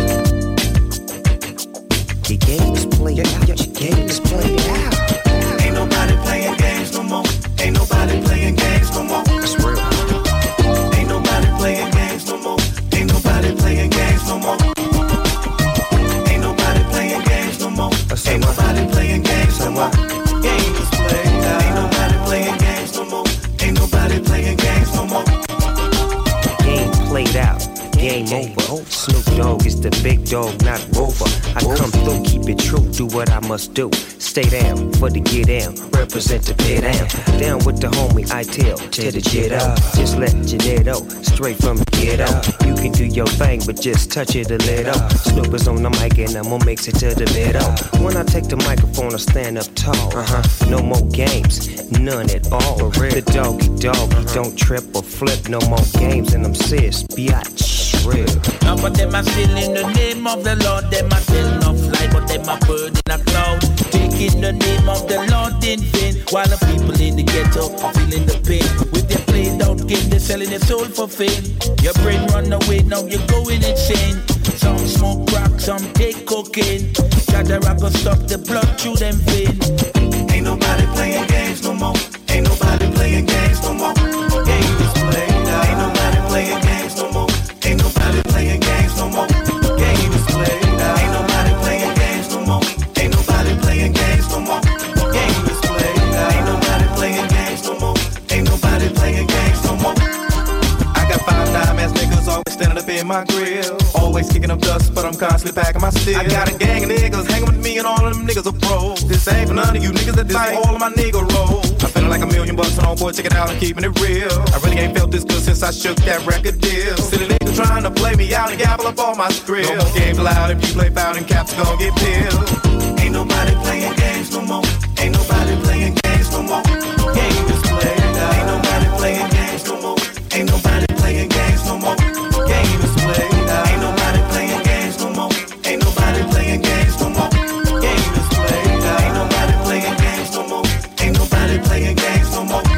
Your game is played out. Your game is played out.
Ain't nobody playing games no more. Ain't nobody playing games no more.
That's real.
Ain't nobody playing games no more. Ain't nobody playing games no more. Ain't nobody playing games no more. Ain't nobody playing games no more. Game is played out. Ain't nobody playing games no more. Ain't nobody playing games no more.
Game played out. Game over. Snoop Dogg is the big dog, not Rover. I come through, keep it true, do what I must do. Stay down for the get down, represent the pit down. Down with the homie, I tell, tear the shit up. Just let your net out, straight from the get out. You can do your thing, but just touch it a little. Snoop is on the mic and I'ma mix it to the middle. When I take the microphone, I stand up tall. Uh-huh. No more games, none at all. The doggy dog, he don't trip or flip. No more games, and I'm serious, biatch. Real.
Now for them I still in the name of the Lord. Them I tell no fly, but them I bird in a cloud. Taking the name of the Lord in vain, while the people in the ghetto are feeling the pain. With their played out game, they're selling their soul for fame. Your brain run away, now you're going insane. Some smoke crack, some take cocaine. Gotta rock or stop the blood through them veins.
Ain't nobody playing games no more. Ain't nobody playing games no more. Game is played out. Ain't nobody playing games no more. Ain't nobody playing games no more. Game is played out. Ain't nobody playing games no more. Ain't nobody playing games no more. Game is played out. Ain't nobody playing games no more. Ain't nobody playing games no more. I got five dime ass niggas always standing up in my grill. Always kicking up dust, but I'm constantly packing my steel. I got a gang of niggas hanging with me and all of them niggas are pros. This ain't for none of you niggas that fight all of my nigga rolls. I feel like
like a million bucks, and oh boy, check it out, I'm keeping it real. I really ain't felt this good since I shook that record deal. Silly niggas trying to play me out and gabble up all my skrill. No more games allowed, if you play foul and caps gon' get peeled.
Ain't nobody playing games no more. Ain't nobody playing games no more. Game is played out. Ain't nobody playing games no more. Ain't nobody playing games no more. Game is played out. Ain't nobody playing games no more. Ain't nobody playing games no more. Game is played out. Ain't nobody playing games no more. Ain't nobody playing games no more.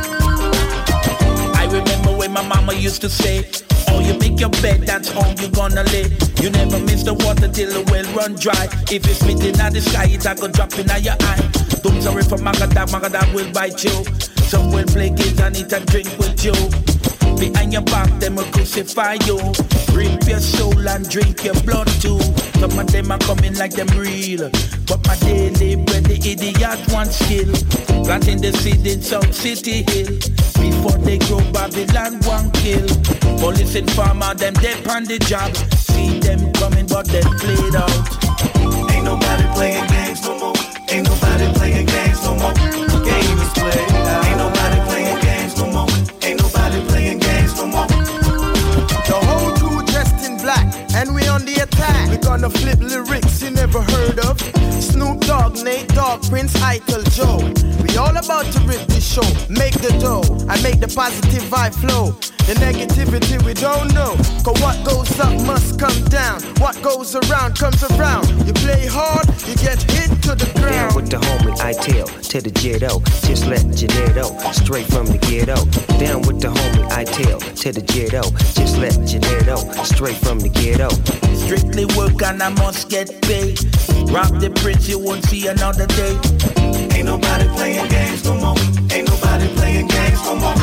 I remember when my mama used to say, oh, you make your bed, that's home you gonna lay. You never miss the water till the well run dry. If it's spitting at the sky, it a go drop in your eye. Don't sorry for Magadag, Magadag will bite you. Some will play games and eat and drink with you. Behind your back, them will crucify you. Rip your soul and drink your blood too. Some of them are coming like them real, but my daily bread, the idiot want skill. Planting the seed in South City Hill. Before they grow, Babylon one kill. Police and farmer, them dead on the job. See them coming, but they played out.
Ain't nobody playing games no more. Ain't nobody playing games no more. Game is played out. Ain't nobody playing games no more. Ain't nobody playing games no more.
The whole crew dressed in black, and we on the attack. We gonna flip lyrics you never heard of. Snoop Dogg, Nate Dogg, Prince Eichel, Joe. We all about to rip this show, make the dough, and make the positive vibe flow. The negativity we don't know, cause what goes up must come down. What goes around comes around. You play hard, you get hit to the ground.
Down with the homie Itel, to the Jetto, just let Janetto, straight from the ghetto. Down with the homie Itel, to the Jetto, just let Janetto, straight from the ghetto.
Strictly work and I must get paid. Rob the prince, you won't see another day.
Ain't nobody playing games no more. Ain't nobody playing games no more.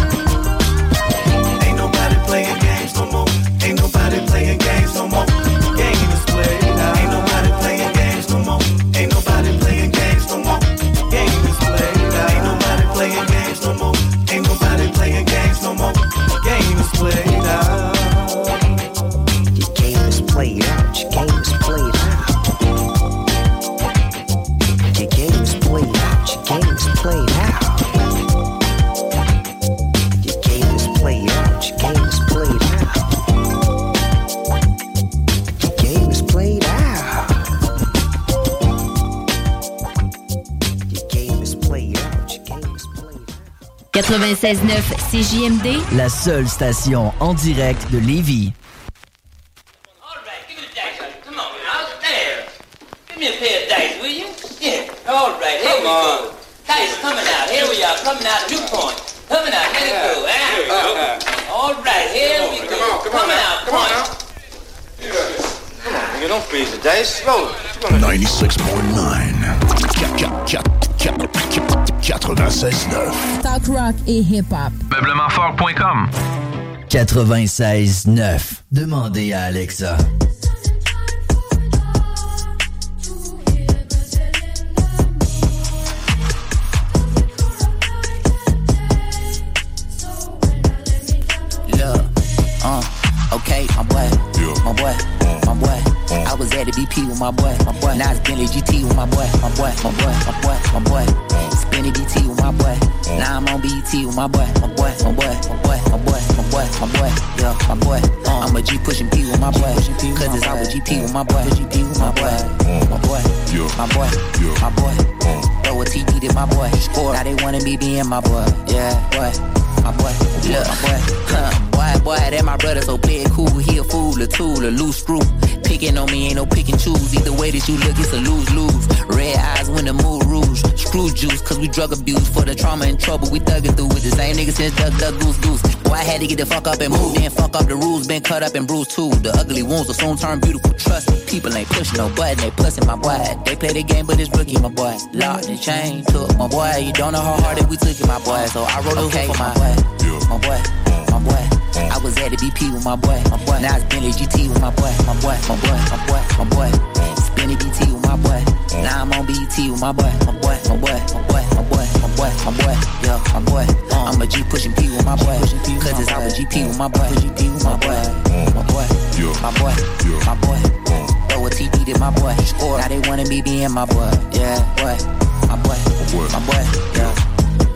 Ain't nobody playing games no more. Ain't nobody playing games no more. Game is played out. Ain't nobody playing games no more. Ain't nobody playing games no more. Game is played out. Ain't nobody playing games no more. Ain't nobody playing games no more. Game is played out.
Your game is played out. Your game is played out. Your game is played out. Your game is played out. Your game is played out. Your game is played out. Your game is played out. Your game is played out. Your game is played out.
quatre-vingt-seize neuf C J M D,
la seule station en direct de Lévis.
Give me a pair of dice, will you? Yeah. All right, here we go. Dice coming out. Here we are, coming out of New Point. Coming out, here we go. Eh? All right, here we go. Come on, come on. Coming out, Point. Come on, nigga, don't freeze the dice. Slow.
ninety-six point nine. quatre-vingt-seize neuf.
Talk rock et hip-hop.
Meublement fort point com.
quatre-vingt-seize neuf. Demandez à Alexa.
Uh, okay, my boy, my boy, my boy. I was at the B P with my boy, my boy. Now it's Bentley G T with my boy, my boy, my boy, my boy, my boy. Spinning B T with my boy. Now I'm on B E T with my boy, my boy, my boy, my boy, my boy, my boy, my boy. Yeah, my boy. Uh, I'm a G pushing P with my boy. Cause it's I with G P with my boy, G P with my boy, my boy, my boy, my boy. Throw a T D to my boy. Score. Now they wanna be being my boy. Yeah, boy. My boy, look, my boy, huh, boy, boy, that my brother, so play it cool. He a fool, a tool, a loose screw. Picking on me ain't no pick and choose. Either way that you look, it's a lose-lose. Red eyes when the mood rouge. Screw juice, cause we drug abuse. For the trauma and trouble, we thuggin' through with the same niggas since Duck, Duck, Goose, Goose. Boy, I had to get the fuck up and move. Then fuck up the rules, been cut up and bruised too. The ugly wounds will soon turn beautiful. Trust me, people ain't pushing no button, they pussing my boy. They play the game, but it's rookie, my boy. Locked and chain, took my boy. You don't know how hard that we took it, my boy. So I wrote a okay, for my boy. My boy, my boy. I was at the B P with my boy, my boy. Now it's Bentley G T with my boy, my boy, my boy, my boy, my boy. Spinning B T with my boy. Now I'm on B E T with my boy, my boy, my boy, my boy, my boy, my boy, my boy. Yeah, my boy. I'm a G pushing P with my boy. Cause it's I with G P with my boy, G P with my boy, my boy, my boy, my boy. Throw a T D to my boy. Score. Now they wanna be being my boy. Yeah, boy, my boy, my boy. Yeah.
This life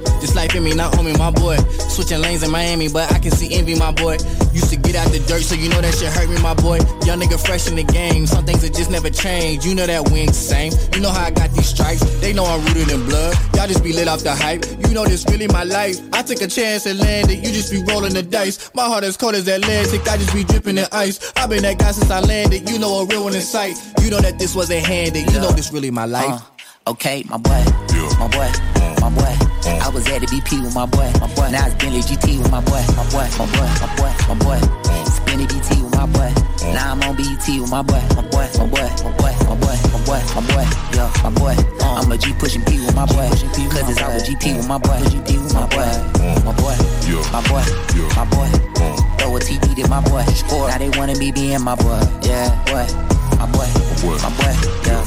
hyping me, not on me, my boy. Switching lanes in Miami, but I can see envy, my boy. Used to get out the dirt, so you know that shit hurt me, my boy. Young nigga fresh in the game, some things that just never change. You know that we ain't the same. You know how I got these stripes, they know I'm rooted in blood. Y'all just be lit off the hype, you know this really my life. I took a chance and landed, you just be rolling the dice. My heart as cold as Atlantic, I just be dripping in ice. I've been that guy since I landed, you know a real one in sight. You know that this wasn't handed, you know this really my life.
Uh, okay, my boy, yeah. my boy, uh, my boy. Uh, I was at the B P with my boy, my boy. Now it's Bentley G T with my boy, my boy, my boy, my boy, my boy. Uh, Spinny B T with my boy. Uh, now I'm on B E T with my boy, my boy, my boy, my boy, my boy, my boy, my boy. Yeah, my boy. Uh, I'm a G pushing P with my boy, cause it's all G P with my boy, G P with my boy, uh, my boy, yeah. my boy, yeah. my boy. Uh, Throw a T V to my boy. Now they wanna be being my boy, yeah, boy, my boy, my boy, my boy. Yeah.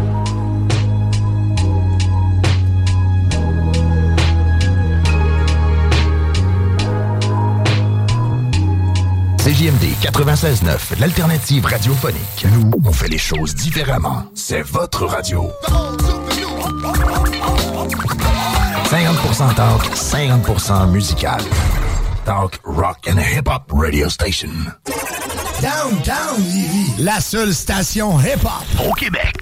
C J M D quatre-vingt-seize neuf, l'alternative radiophonique. Nous, on fait les choses différemment. C'est votre radio. cinquante pour cent talk, cinquante pour cent musical. Talk, rock and hip-hop radio station.
Downtown Lévis, la seule station hip-hop
au Québec.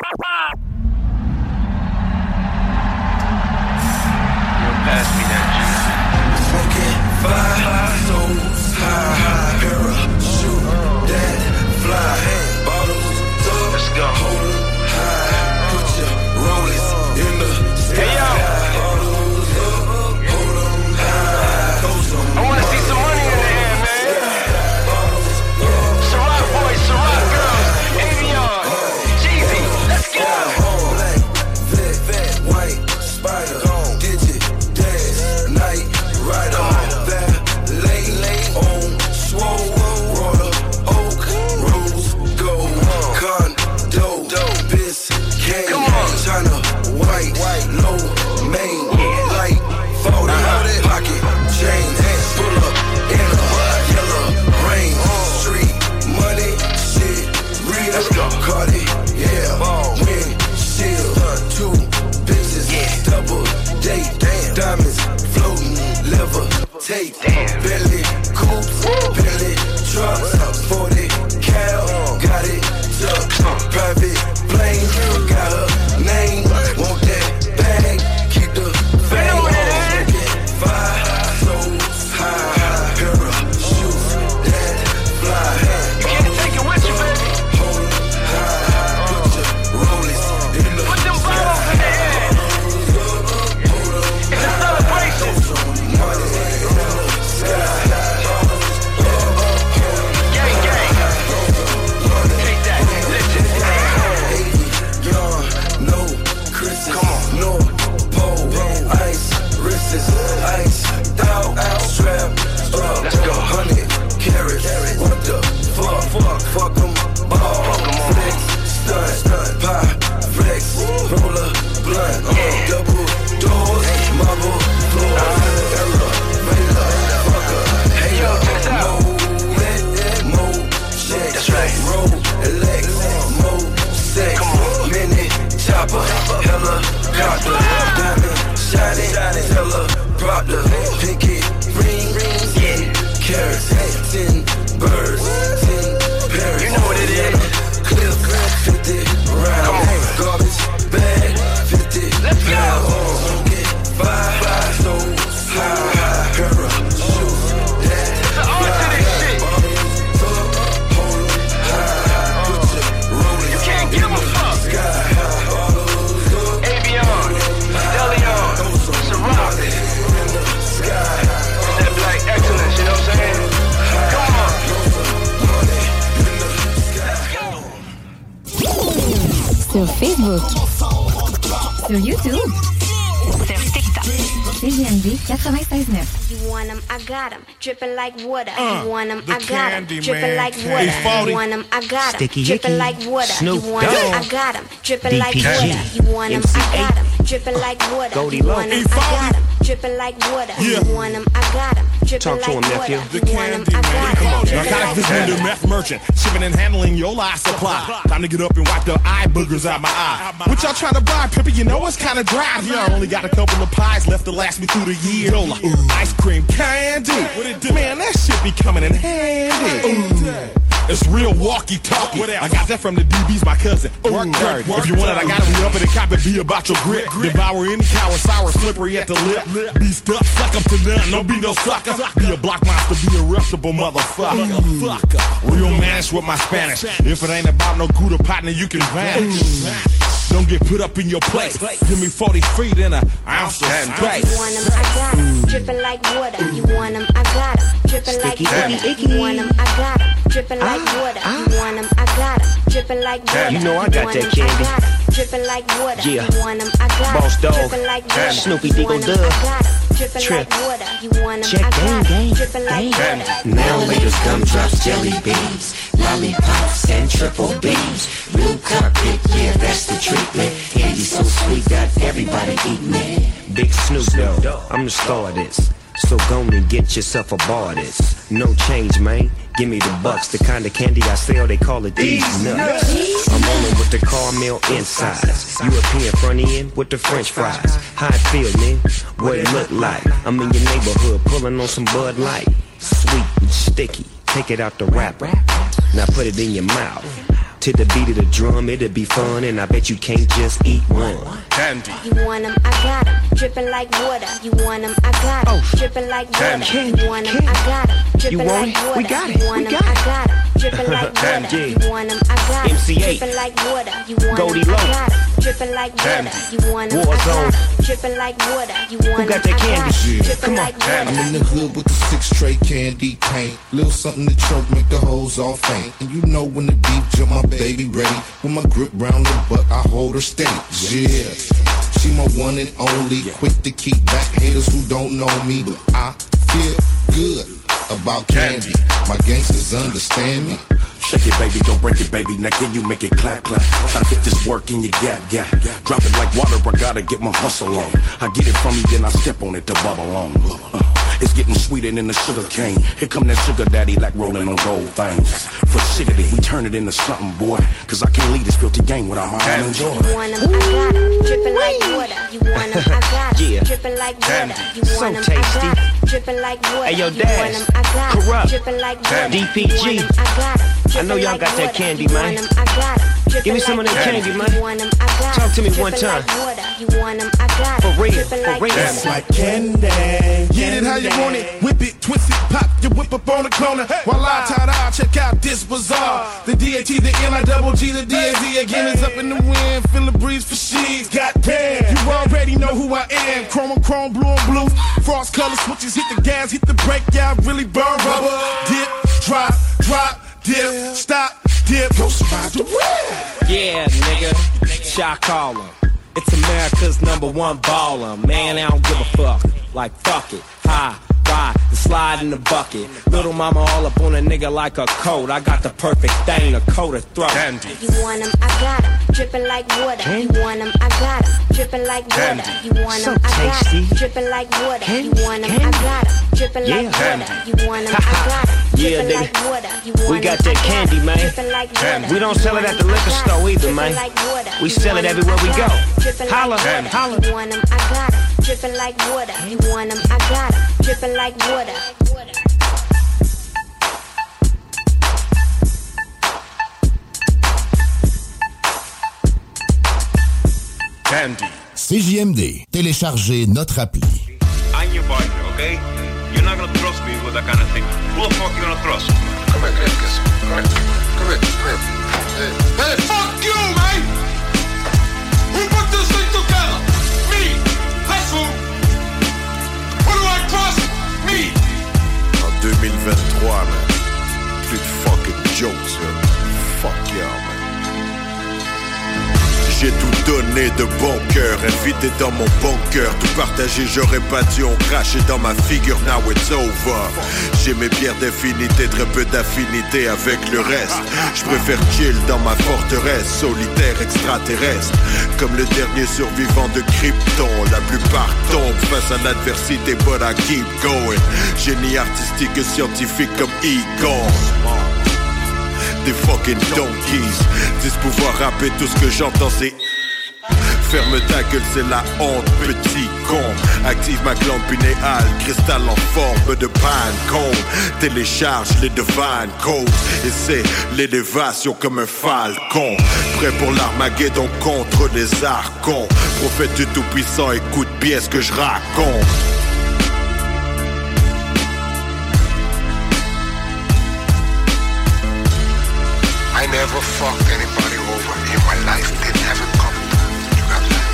Pass me that juice.
Smoking five souls high, parachute that fly, bottles up, let's go, hold 'em high, put your rollers in the sky. Hey yo, bottles up, hold 'em high, throw some.
I wanna see some money in the air, man. Ciroc boys, Ciroc girls, Avion, Jeezy, let's go.
Black, vet, vet, white, spider, digit, dash, night, rider, valet, on, swole, water, oak, rose, gold, condo, bis, cane, China, white, low, main, light, photo, pocket, chain, pull up, in a yellow rain, street, money, shit, real, Cardi, yeah, win, shield, two bitches, double date, diamonds, floating, levitate, belly, coops, belly, trucks, forty cal, got it, tucked, private plane, got her name, want that bag, keep the fame, five souls high, parachute that fly,
you can't take it with you, baby.
Hold high, put your rollers in the
put them bottles in the air. It's a celebration. Gang, gang. Take that. Listen.
Young, no Chris's, come on, no pole, ice, wrists, ice, out, strap, up, let's go, hundred carats, what the fuck, fuck, fuck 'em, ball, flex, stunt, stunt, pie, flex, roller, blunt, uh, double doors, marble floor, error, Mela, fucker, hater, mo, lit, mo, check, that's right, roll, elect, mo, sex, minute, chopper, helicopter, diamond, shining, teller, Proctor, pinky, ring, yeah, carrots, ten birds, ten parrots,
you know what it is.
Cliff, fifty round, garbage bag, fifty.
Let's go.
Pound, get five, five souls high, parachute that
it's an art to this shit.
Hold 'em high, put your rollers.
You can't give a fuck. Avion, Deleon, Ciroc. It's that black excellence, you know what I'm saying? Come on.
Sur Facebook. Sur YouTube. Sur TikTok. C J M D quatre-vingt-seize neuf.
You want 'em, I got 'em, dripping like water.
Uh,
you want 'em,
the
I got 'em,
Candy
dripping
Man
like
Candy.
water.
Hey,
You want 'em, I got 'em,
Sticky
dripping
Icky,
like water.
Snoop
You want 'em,
Dogg,
I got 'em, dripping like
D P G,
water. You want 'em, I got 'em, dripping like water.
Goldie
You
Loc.
want 'em,
Hey,
I got 'em, dripping like water.
Yeah.
You want them, I got them, dripping
Talk to
like
him,
water.
nephew.
You want them, I got them, dripping
Narcotic
like
vendor,
water.
meth merchant, shipping and handling your life supply. Time to get up and wipe the eye boogers out my eye. What y'all trying to buy, Pippa? You know it's kind of dry. Yeah, I only got a couple of pies left to last me through the year. Yola, ice cream candy. Man, that shit be coming in handy. Ooh. It's real walkie-talkie. I got that from the D B's, my cousin. Work dirty. If you want it, I got it. We up in the cop and be about your grip. Devour any cow and sour, slippery at the lip. Be stuck, suck up to none. Don't be no sucker. Be a block monster, be a reputable motherfucker. Real manish with my Spanish. If it ain't about no Gouda partner, you can vanish. Don't get put up in your place. Give me forty feet in an ounce of space.
You want them, I got them, dripping like water. You want them, I got them, dripping like water. You want them, I got them, dripping like water. You want them, I got them, dripping like water.
You know I got that candy.
Dripping like water.
Yeah.
You want them, I got
Boss
them,
dog.
dripping like water.
Snoopy
You
Diggle
want them,
Dub.
I got them, dripping
Trip.
like water. You want them,
Check
I
gang,
got
gang.
them, dripping like water.
Now latest gumdrops, jelly beans, lollipops, and triple beans. Blue carpet, yeah, that's the treatment. Candy so sweet, got everybody eating it.
Big Snoop Dogg, I'm the star of this. So go and get yourself a bar of this. No change, man. Give me the bucks. The kind of candy I sell, they call it these nuts. I'm rolling with the caramel insides. European front end with the French fries. How it feel, man? What it look like? I'm in your neighborhood pulling on some Bud Light. Sweet and sticky. Take it out the wrapper. Now put it in your mouth. To the beat of the drum, it'll be fun, and I bet you can't just eat one.
Candy.
You want them, I got them, dripping like water. You want them, I got them, dripping like water. You want them, I got them, dripping like water.
We got it.
You want them, I got them, dripping like water. You want them, I got them,
M C eight.
dripping like water. You want
Goldie
them, I
Low.
got them, dripping like water. You want them, I
Warzone.
got them, dripping like water. You want
Who got
them,
that
I
candy?
got them,
Yeah.
dripping
Come on.
like water.
I'm in the hood with the six tray candy paint. Little something to choke, make the hoes all faint. And you know when the beat jump, my baby ready. With my grip round the butt, I hold her steady. Yeah, she my one and only. Quick to keep back haters who don't know me. But I feel good about candy. My gangsters understand me.
Shake it, baby, don't break it, baby. Now can you make it clap, clap? I get this work in your gap, gap. Drop it like water, I gotta get my hustle on. I get it from you, then I step on it to bubble on. Uh, it's getting sweeter than the sugar cane. Here come that sugar daddy like rolling on gold things. For shiggity, we turn it into something, boy. Cause I can't leave this filthy game without my own joy.
You want them, I got them, dripping like water. You want them, I got them,
Yeah.
dripping like water. You
So
want them, I
tasty.
got them, dripping like water.
Hey, yo,
You
Dash.
want them, I got them,
Corrupt.
dripping like water.
D P G.
You want them, I got them,
I know
dripping
y'all
like
got that
water.
candy,
You
man.
want them, I got them, dripping
Give me some
like
of that
water.
candy,
You
man.
want them, I got
Talk to me
them,
one
dripping
time.
like water. You want them, I got
For
them,
real,
dripping
for
like
real.
water.
That's like
candy. Get it how you want it. Whip it, twist it, pop your whip up on the corner. While I tie dye, check out this bazaar. The D A T, the N I double G, the D A Z again is up in the wind. Feel the breeze for she's. Goddamn, you already know who I am. Chrome on chrome, blue on blue. Frost color switches, hit the gas, hit the brake, yeah, I really burn rubber. Dip, drop, drop, dip, stop, dip. Go spot the red. Yeah, nigga, shot caller. It's America's number one baller. Man, I don't give a fuck. Like, fuck it. High, ride, the slide in the bucket. Little mama all up on a nigga like a coat. I got the perfect thing to coat her throat.
You want them, I got them, dripping like water. You want them, I got them, dripping like water. You want them, I got them, dripping like water. You want them, I got them, dripping like water. You want them, I got them,
Yeah,
dripping
nigga.
like water. You
We
want
got
them,
that
I
candy,
them,
man.
dripping like water.
We don't sell it at the liquor store either, man. We sell it everywhere we go. Holla, holla.
You want them, I got them, dripping like water. You want them, I got them, dripping like water.
Candy.
C J M D. Téléchargez notre appli.
I'm your partner, okay? You're not gonna trust me with that kind of thing. Who the fuck you gonna trust? Come here, come here, come here, come here, come here.
Hey, hey, fuck you, man! Who put this thing together? Me! That's who! Who do I trust? Me!
En deux mille vingt-trois, man. Plus de fucking jokes, yo. Fuck y'all, man. J'ai tout donné de bon cœur, invité dans mon bunker. Tout partagé, j'aurais pas dû en cracher dans ma figure. Now it's over. J'ai mes pierres d'infinité, très peu d'affinité avec le reste. Je préfère chill dans ma forteresse, solitaire extraterrestre. Comme le dernier survivant de Krypton. La plupart tombent face à l'adversité, but I keep going. Génie artistique et scientifique comme Egon. Des fucking donkeys disent pouvoir rapper, tout ce que j'entends c'est ferme ta gueule, c'est la honte, petit con. Active ma glande pinéale, cristal en forme de Pine-Cone. Télécharge les divine codes et c'est l'élévation comme un falcon. Prêt pour l'Armageddon contre les archons. Prophète du tout-puissant, écoute bien ce que je raconte.
I never fucked anybody over in my life. Didn't have it coming. You got that?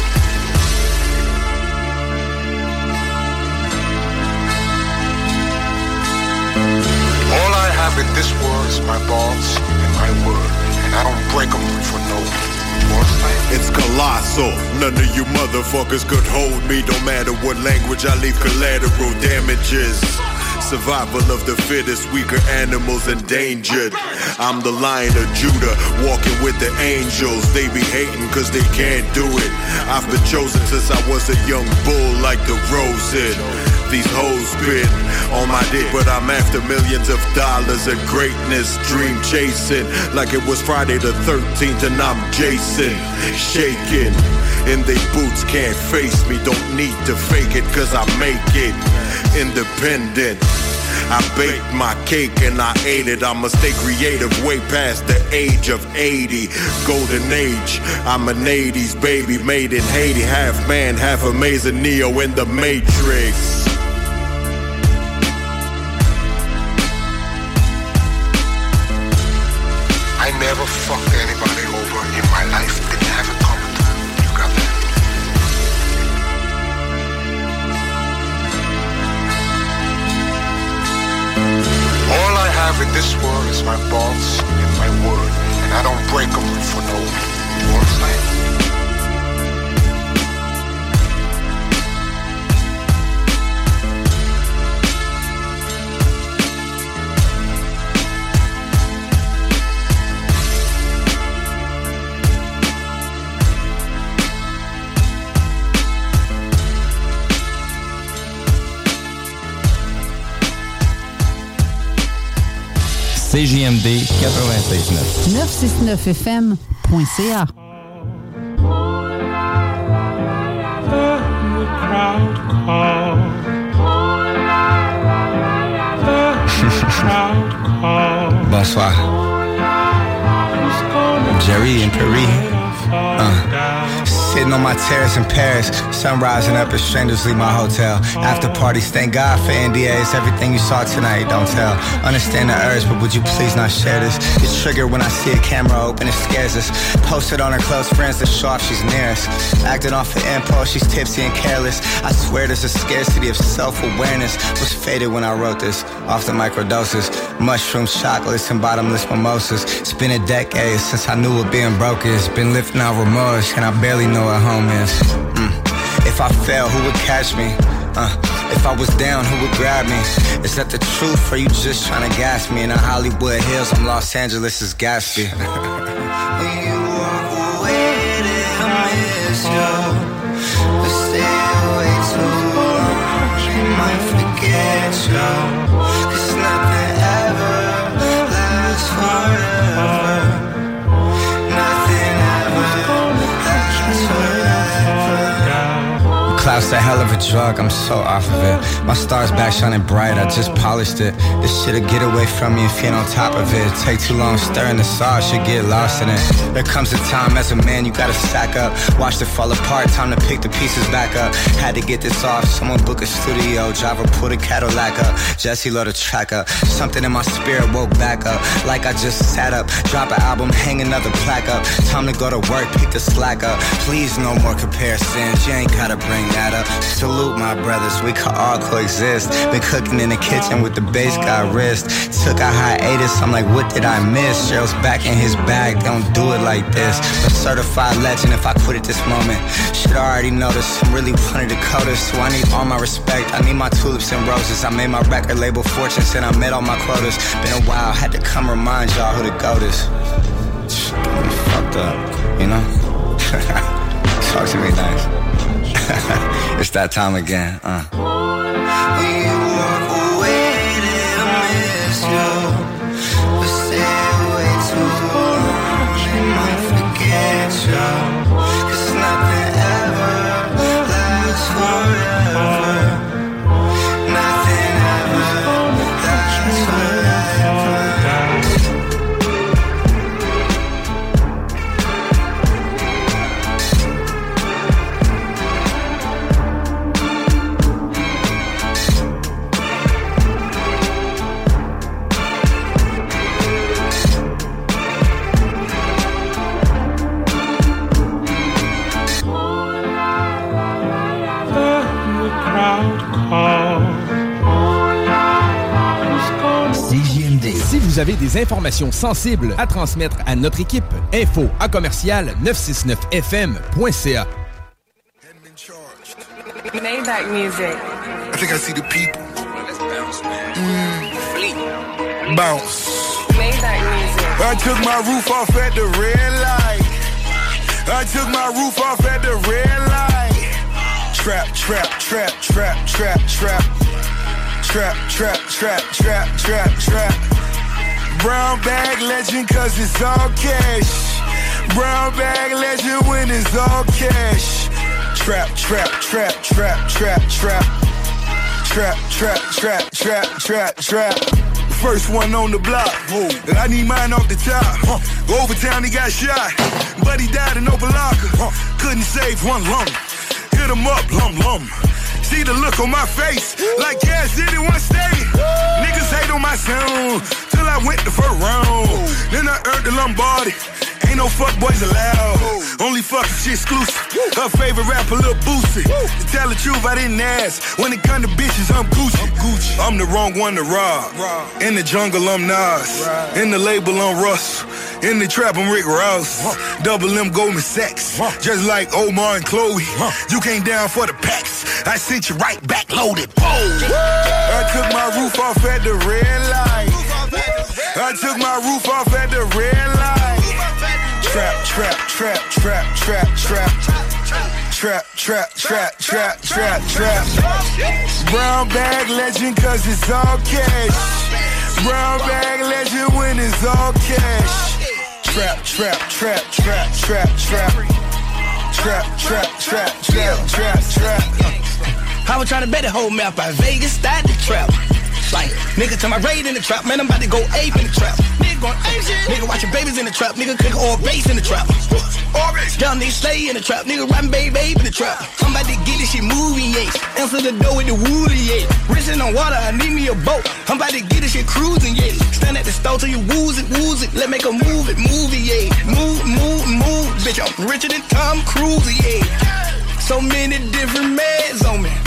All I have in this world is my balls and my word, and I don't break them for no one.
It's colossal. None of you motherfuckers could hold me. No matter what language I leave collateral damages. Survival of the fittest, weaker animals endangered. I'm the Lion of Judah, walking with the angels. They be hating cause they can't do it. I've been chosen since I was a young bull like the Rosen. These hoes been on my dick, but I'm after millions of dollars and greatness. Dream chasing like it was Friday the thirteenth and I'm Jason. Shaking in they boots, can't face me. Don't need to fake it cause I make it. Independent, I baked my cake and I ate it. I'ma stay creative way past the age of eighty. Golden age, I'm an eighties baby made in Haiti. Half man, half amazing, Neo in the Matrix.
I never fucked anybody over in my life. Didn't have it coming. You got that? All I have in this world is my balls and my word, and I don't break them for no one.
C J M D quatre-vingt-seize neuf.
neuf cent soixante-neuf F M point C A.
Bonsoir. Jerry and Paris. Uh. Sitting on my terrace in Paris, sun rising up as strangers leave my hotel. After parties, thank God for N D As. Everything you saw tonight, don't tell. Understand the urge, but would you please not share this? It's triggered when I see a camera open, it scares us. Posted on her close friends to show off she's near us. Acting off an impulse, she's tipsy and careless. I swear there's a scarcity of self-awareness. Was faded when I wrote this, off the microdoses. Mushrooms, chocolates, and bottomless mimosas. It's been a decade since I knew what being broke is. Been lifting out remorse, and I barely know what home is. Mm. If I fell, who would catch me? Uh, if I was down, who would grab me? Is that the truth, or you just trying to gas me? In the Hollywood Hills, I'm Los Angeles' Gatsby. When you walk away, I miss you. But stay away too long, you might forget you. Cause nothing ever lasts forever. Nothing ever lasts forever. Cloud's a hell of a drug, I'm so off of it. My star's back shining bright, I just polished it. This shit'll get away from me if you're on top of it. Take too long stirring the sauce, you get lost in it. There comes a time as a man you gotta stack up. Watch it fall apart, time to pick the pieces back up. Had to get this off, someone book a studio. Driver put a Cadillac up, Jesse load a track up. Something in my spirit woke back up, like I just sat up. Drop an album, hang another plaque up. Time to go to work, pick the slack up. Please no more comparisons, you ain't gotta bring that matter. Salute my brothers, we can all coexist. Been cooking in the kitchen with the bass got wrist. Took a hiatus, I'm like, what did I miss? Cheryl's back in his bag, don't do it like this. A certified legend if I quit at this moment. Shit, I already noticed, I'm really one of the coders. So I need all my respect, I need my tulips and roses. I made my record label fortune, said I met all my quotas. Been a while, had to come remind y'all who the GOAT is. Get me fucked up, you know? Talk to me nice. It's that time again, uh. When you walk away, I miss you. But stay away too long, they might forget you. Cause nothing ever lasts forever. Nothing ever lasts forever.
Si vous avez des informations sensibles à transmettre à notre équipe, info à commercial neuf cent soixante-neuf F M point C A.
Maybach music.
I think I see the people. Mm. Bounce.
Maybach music.
I took my roof off at the red light. I took my roof off at the red light. Trap, trap, trap, trap, trap, trap. Trap, trap, trap, trap, trap, trap. Brown bag legend cause it's all cash. Brown bag legend when it's all cash. Trap, trap, trap, trap, trap, trap. Trap, trap, trap, trap, trap, trap. First one on the block. And I need mine off the top. Overtown he got shot, but he died in Opa-locka. Couldn't save one lung. Hit him up, lum lum. See the look on my face, like Cash did in one state. Niggas hate on my sound, till I went the first round. Then I earned the Lombardi. Ain't no fuck boys allowed. Only fucking shit exclusive. Her favorite rapper, Lil Boosie. To tell the truth, I didn't ask. When it come to bitches, I'm Gucci. Gucci. I'm the wrong one to rob. In the jungle, I'm Nas. In the label, I'm Russell. In the trap, I'm Rick Ross. Double M Goldman Sachs. Just like Omar and Chloe. You came down for the packs. I sent you right back loaded. I took my roof off at the red light. I took my roof off at the red light. Trap, trap, trap, trap, trap, trap. Trap, trap, trap, trap, trap, trap. Brown bag legend cause it's all cash. Brown bag legend when it's all cash. Trap, trap, trap, trap, trap, trap. Trap, trap, trap, trap, trap, trap.
I was trying to bet the whole map out Vegas, started the trap. Like, nigga to my raid in the trap, man, I'm about to go ape in the trap. Nigga going ape shit. Nigga watching babies in the trap, nigga cook all bass in the trap. Young nigga stay in the trap, nigga riding baby babe in the trap. I'm about to get this shit moving, yeah. Answer the door with the woolly, yeah. Racing on water, I need me a boat. I'm about to get this shit cruising, yeah. Stand at the store till you wooze it, wooze it. Let make a move it, move it, yeah. Move, move, move, bitch, I'm richer than Tom Cruise, yeah. So many different meds on me.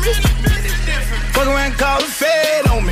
Fuck around, call the Fed on me.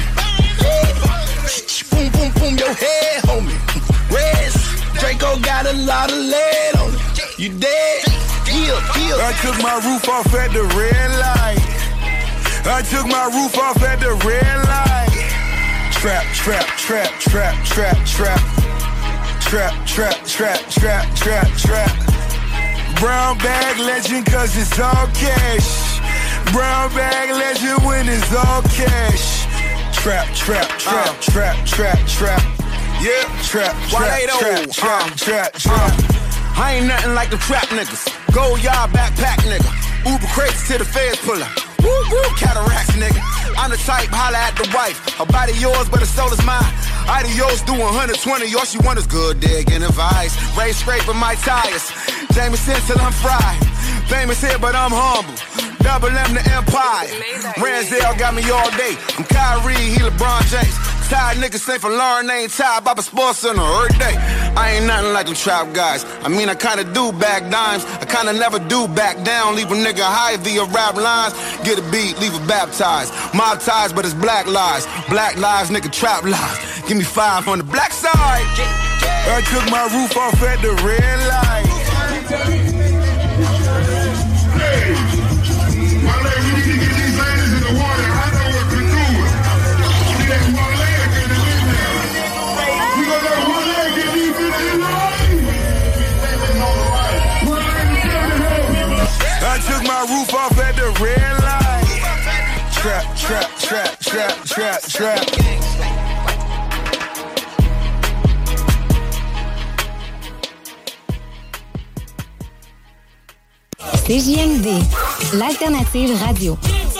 Boom, boom, boom, your head, homie. Reds, Draco got a lot of lead on it. You dead? Heal, heal.
I took my roof off at the red light. I took my roof off at the red light. Trap, trap, trap, trap, trap, trap. Trap, trap, trap, trap, trap, trap. Brown bag legend cause it's all cash. Brown bag legend when it's all cash. Trap, trap, trap, uh. trap, trap, trap. Yeah, trap, trap, trap, trap, uh. trap, trap.
Uh. I ain't nothing like the trap niggas. Gold yard backpack nigga. Uber crates till the feds pull up. Woo woo, cataracts nigga. I'm the type, holla at the wife. Her body yours, but her soul is mine. Adios, do one hundred twenty, all she want is good digging advice. Ray scraping my tires. Jameson till I'm fried. Famous here, but I'm humble. Double M the Empire. Ranzel got me all day. I'm Kyrie, he LeBron James. Tired niggas say for Lauren ain't tired. Baba Sports Center every day. I ain't nothing like them trap guys. I mean, I kinda do back dimes. I kinda never do back down. Leave a nigga high via rap lines. Get a beat, leave it baptized. Mob ties, but it's black lies. Black lives, nigga, trap lies. Give me five on the black side.
I took my roof off at the red light.
Hey, my lady, we need to get these ladies in the water. I know what to do. See that one leg in the midnight. We got that one leg in these bitches.
I took my roof off at the red light. Trap, trap, trap, trap, trap, trap.
C J M D, l'alternative radio.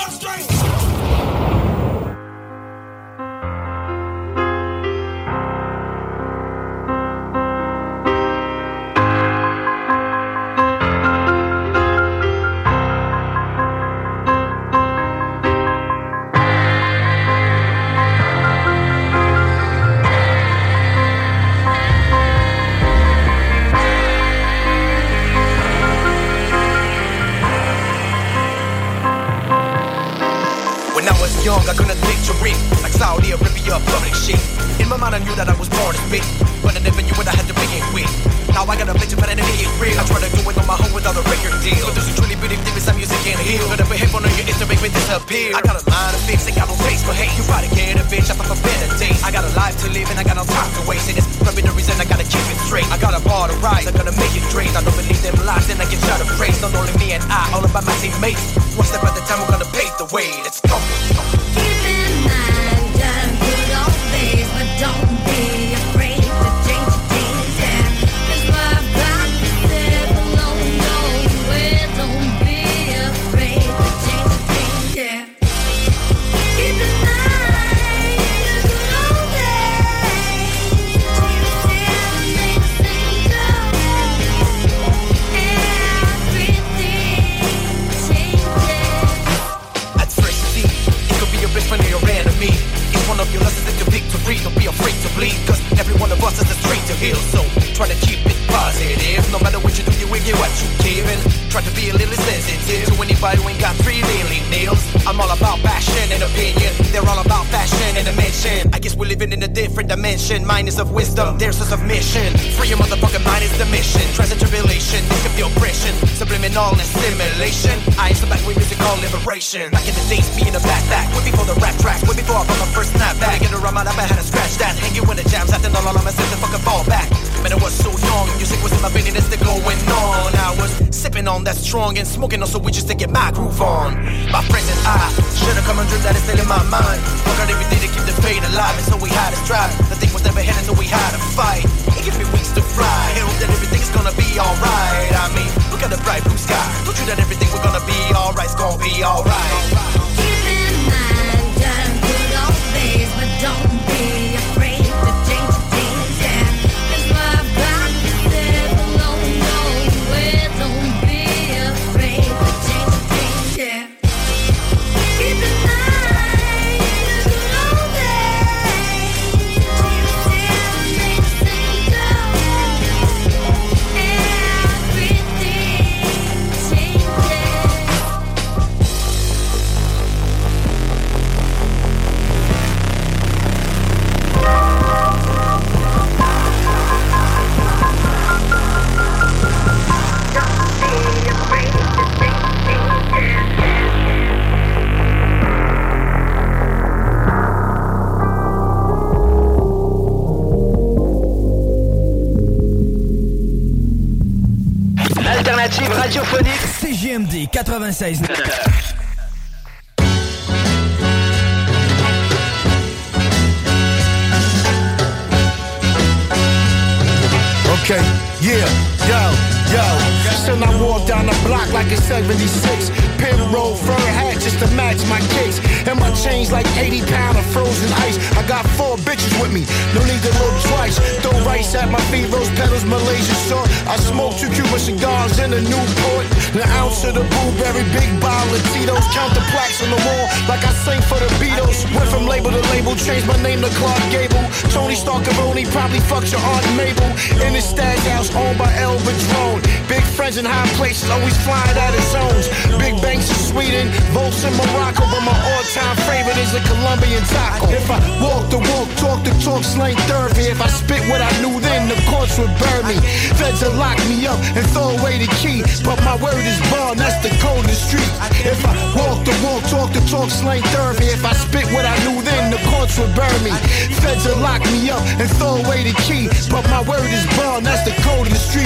Young, I couldn't picture it like Saudi Arabia, public shit. In my mind, I knew that I was born to spit, but I never knew what I had to begin with. Now I got a picture, but I didn't get real. I try to do it on my own without a record deal. But those who truly believe deep inside music can't heal. But I behave on your Insta, make me disappear. I got a line to fix, ain't got no face for hate. You gotta get a bitch, I thought for better days. I got a life to live and I got no time to waste. And it's probably the reason I gotta keep it straight. I got a bar to rise, I gotta make it straight. I don't believe them lies, then I get shot of praise. Not only me and I, all about my teammates. One step at a time, we're gonna pave the way. Let's go.
But don't be afraid to change things, yeah. That's why I've got to live alone, nowhere. Don't be afraid to change things, yeah. Keep in mind the good old days. Jesus said to make the same go. Everything changes.
At first see, it could be your best friend or your enemy. One of your lessons is your victory. Don't be afraid to bleed, cause every one of us has a street to heal. So try to keep it positive. No matter what you do, you will get what you give. And try to be a little sensitive to anybody who ain't got three daily nails. I'm all about passion and opinion. They're all about fashion and dimension. I guess we're living in a different dimension. Mine is of wisdom, theirs is of mission. Free your motherfucking mind is the mission. Trials and tribulation, this could be oppression. Subliminal and stimulation. I am so back with music called liberation. Back in the days, me in a backpack. Way before the rap tracks, way before I brought my first snapback. Get around my lap, I had to scratch that. Hanging with the jams, acting all on myself to fucking fall back. Man, I was so young, music was in my vein and it's still going on. I was sipping on that strong and smoking on some weed just to get my groove on. My friends and I should've come and dreamed that it's still in my mind. Work out every day to keep the fate alive, and so we had to strive. The thing was never headed, so we had to fight. It gives me wings to fly. I hope that everything's gonna be alright. I mean, look at the bright blue sky. Don't you that everything we're gonna be alright, it's gonna be alright.
Keep in mind the good old days, but don't be afraid to change things, yeah. That's why I've got to live alone, nowhere. Don't be afraid to change things, yeah. Keep in mind the good old days. Jesus said to make the same go. Everything changes.
L'alternative radiophonique
C J M D quatre-vingt-seize neuf.
Okay, yeah, yo, yo. Still I walk down the block like it's seventy-six. Pin roll, fur hat just to match my kicks. And my change like eighty pound of frozen ice. I got four bitches with me, no need to look twice. Throw rice at my feet, rose petals, Malaysia short. I smoke two Cuban cigars in a Newport. An ounce of the blueberry, big bottle of Tito's. Count the plaques on the wall like I sing for the Beatles. Went from label to label, changed my name to Clark Gable. Tony Starcaroni probably fucked your Aunt Mabel. In his stash house owned by El Padrone. Big friends in high places, always flying out of zones. Big banks in Sweden, Volts in Morocco, but my all-time favorite is a Colombian taco. If I walk the walk, talk the talk, slang therapy. If I spit what I knew then, the courts would burn me. Feds will lock me up and throw away the key, but my word is bond, that's the code of the street. If I walk the walk, talk the talk, slang therapy. If I spit what I knew then, the courts would burn me. Feds will lock me up and throw away the key, but my word is bond, that's the code of the street.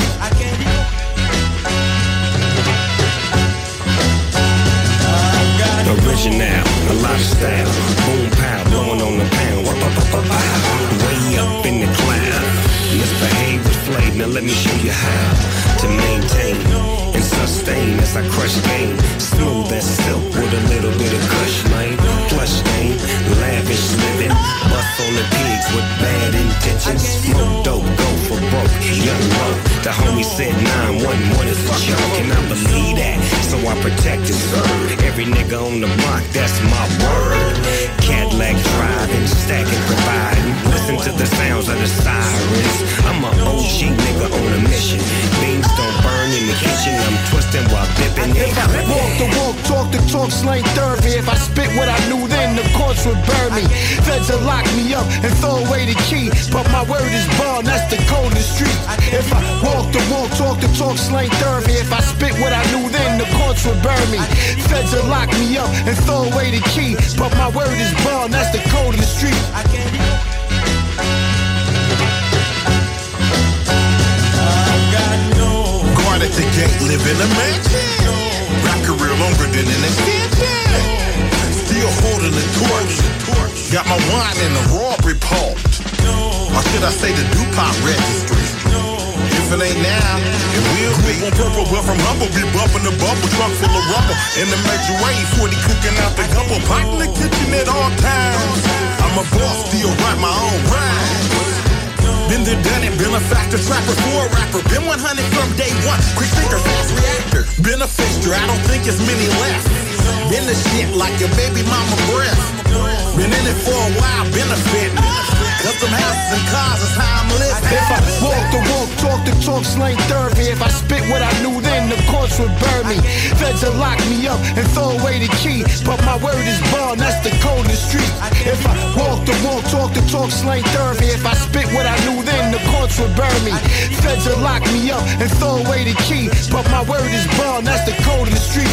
Original, a lot of style. Boom pow, blowing on the pound. Way up in the cloud. Misbehave with flame, now let me show you how to maintain and sustain as I crush game. Smooth as silk with a little bit of kush, man. Plush game, lavish living. Bust on the pigs with bad intentions. Smoke dope, go for broke, young low. The homie said nine one one is a joke, and I believe that, so I protect and serve every nigga on the block, that's my word. Cadillac driving, stacking, providing. Listen to the sounds of the sirens. I'm a O G nigga on a mission. Beans don't burn in the kitchen, I'm twisting while dipping.
If I walk the walk, talk the talk, slang therapy. If I spit what I knew then, the courts would burn me. Feds will lock me up and throw away the key, but my word is bond, that's the code of the street. If I walk the walk, talk the talk, slang therapy. If I spit what I knew then, the courts would burn me. Feds will lock me up and throw away the key, but my word is bond, that's the code of the street.
Guard at the gate, live in a mansion. Rap career longer than an extension. Still holding the torch. Got my wine in the raw report. Or should I say the DuPont registry? If it ain't now, it will be. On purple, but from humble, be bumping the bubble, trunk full of rubber. In the major way, forty cooking out the gumbo, pot in the kitchen at all times. I'm a boss, still write my own rhymes. Been there, done it, been a factor, trapper for a rapper. Been one hundred from day one, quick thinker, fast reactor. Been a fixture, I don't think it's many left. Been the shit like your baby mama breath. Been in it for a while, benefiting. Custom houses and cars is how I'm living.
If I walk the walk, talk the talk, slang therapy. If I spit what I knew then, the courts would burn me. Feds will lock me up and throw away the key, but my word is bond, that's the code of the street. If I walk the walk, talk the talk, slang therapy. If I spit what I knew then, the courts would burn me. Feds will lock me up and throw away the key, but my word is bond, that's the code of the street.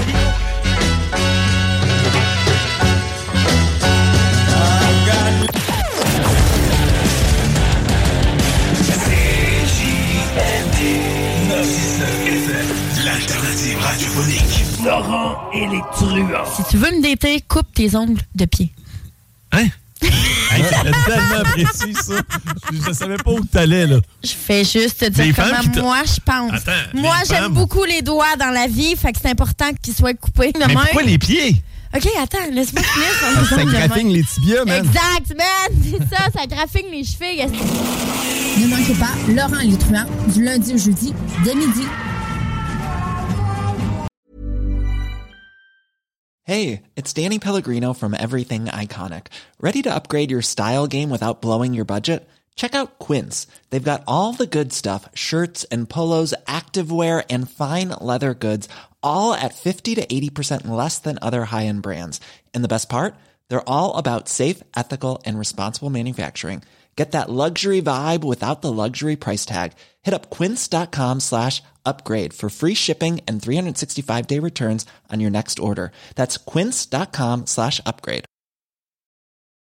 L'alternative radiophonique.
Laurent et les truands. Si tu veux me dater, coupe tes ongles de pied.
Hein? Hey, c'est tellement précis, ça. Je ne savais pas où tu allais, là.
Je fais juste te dire
Les
comment moi je pense.
Attends,
moi,
les
j'aime
femmes.
beaucoup les doigts dans la vie, fait que c'est important qu'ils soient coupés de
Mais
même.
pourquoi les pieds?
OK, attends, laisse-moi finir sur les
Ça
ongles de
graffine
même.
les tibias, man.
Exact, man! C'est ça, ça graffine les chevilles.
Ne manquez pas Laurent et les truands du lundi au jeudi dès midi.
Hey, it's Danny Pellegrino from Everything Iconic. Ready to upgrade your style game without blowing your budget? Check out Quince. They've got all the good stuff, shirts and polos, activewear, and fine leather goods, all at fifty to eighty percent less than other high-end brands. And the best part? They're all about safe, ethical, and responsible manufacturing. Get that luxury vibe without the luxury price tag. Hit up quince.com slash upgrade for free shipping and three sixty-five day returns on your next order. That's quince.com slash upgrade.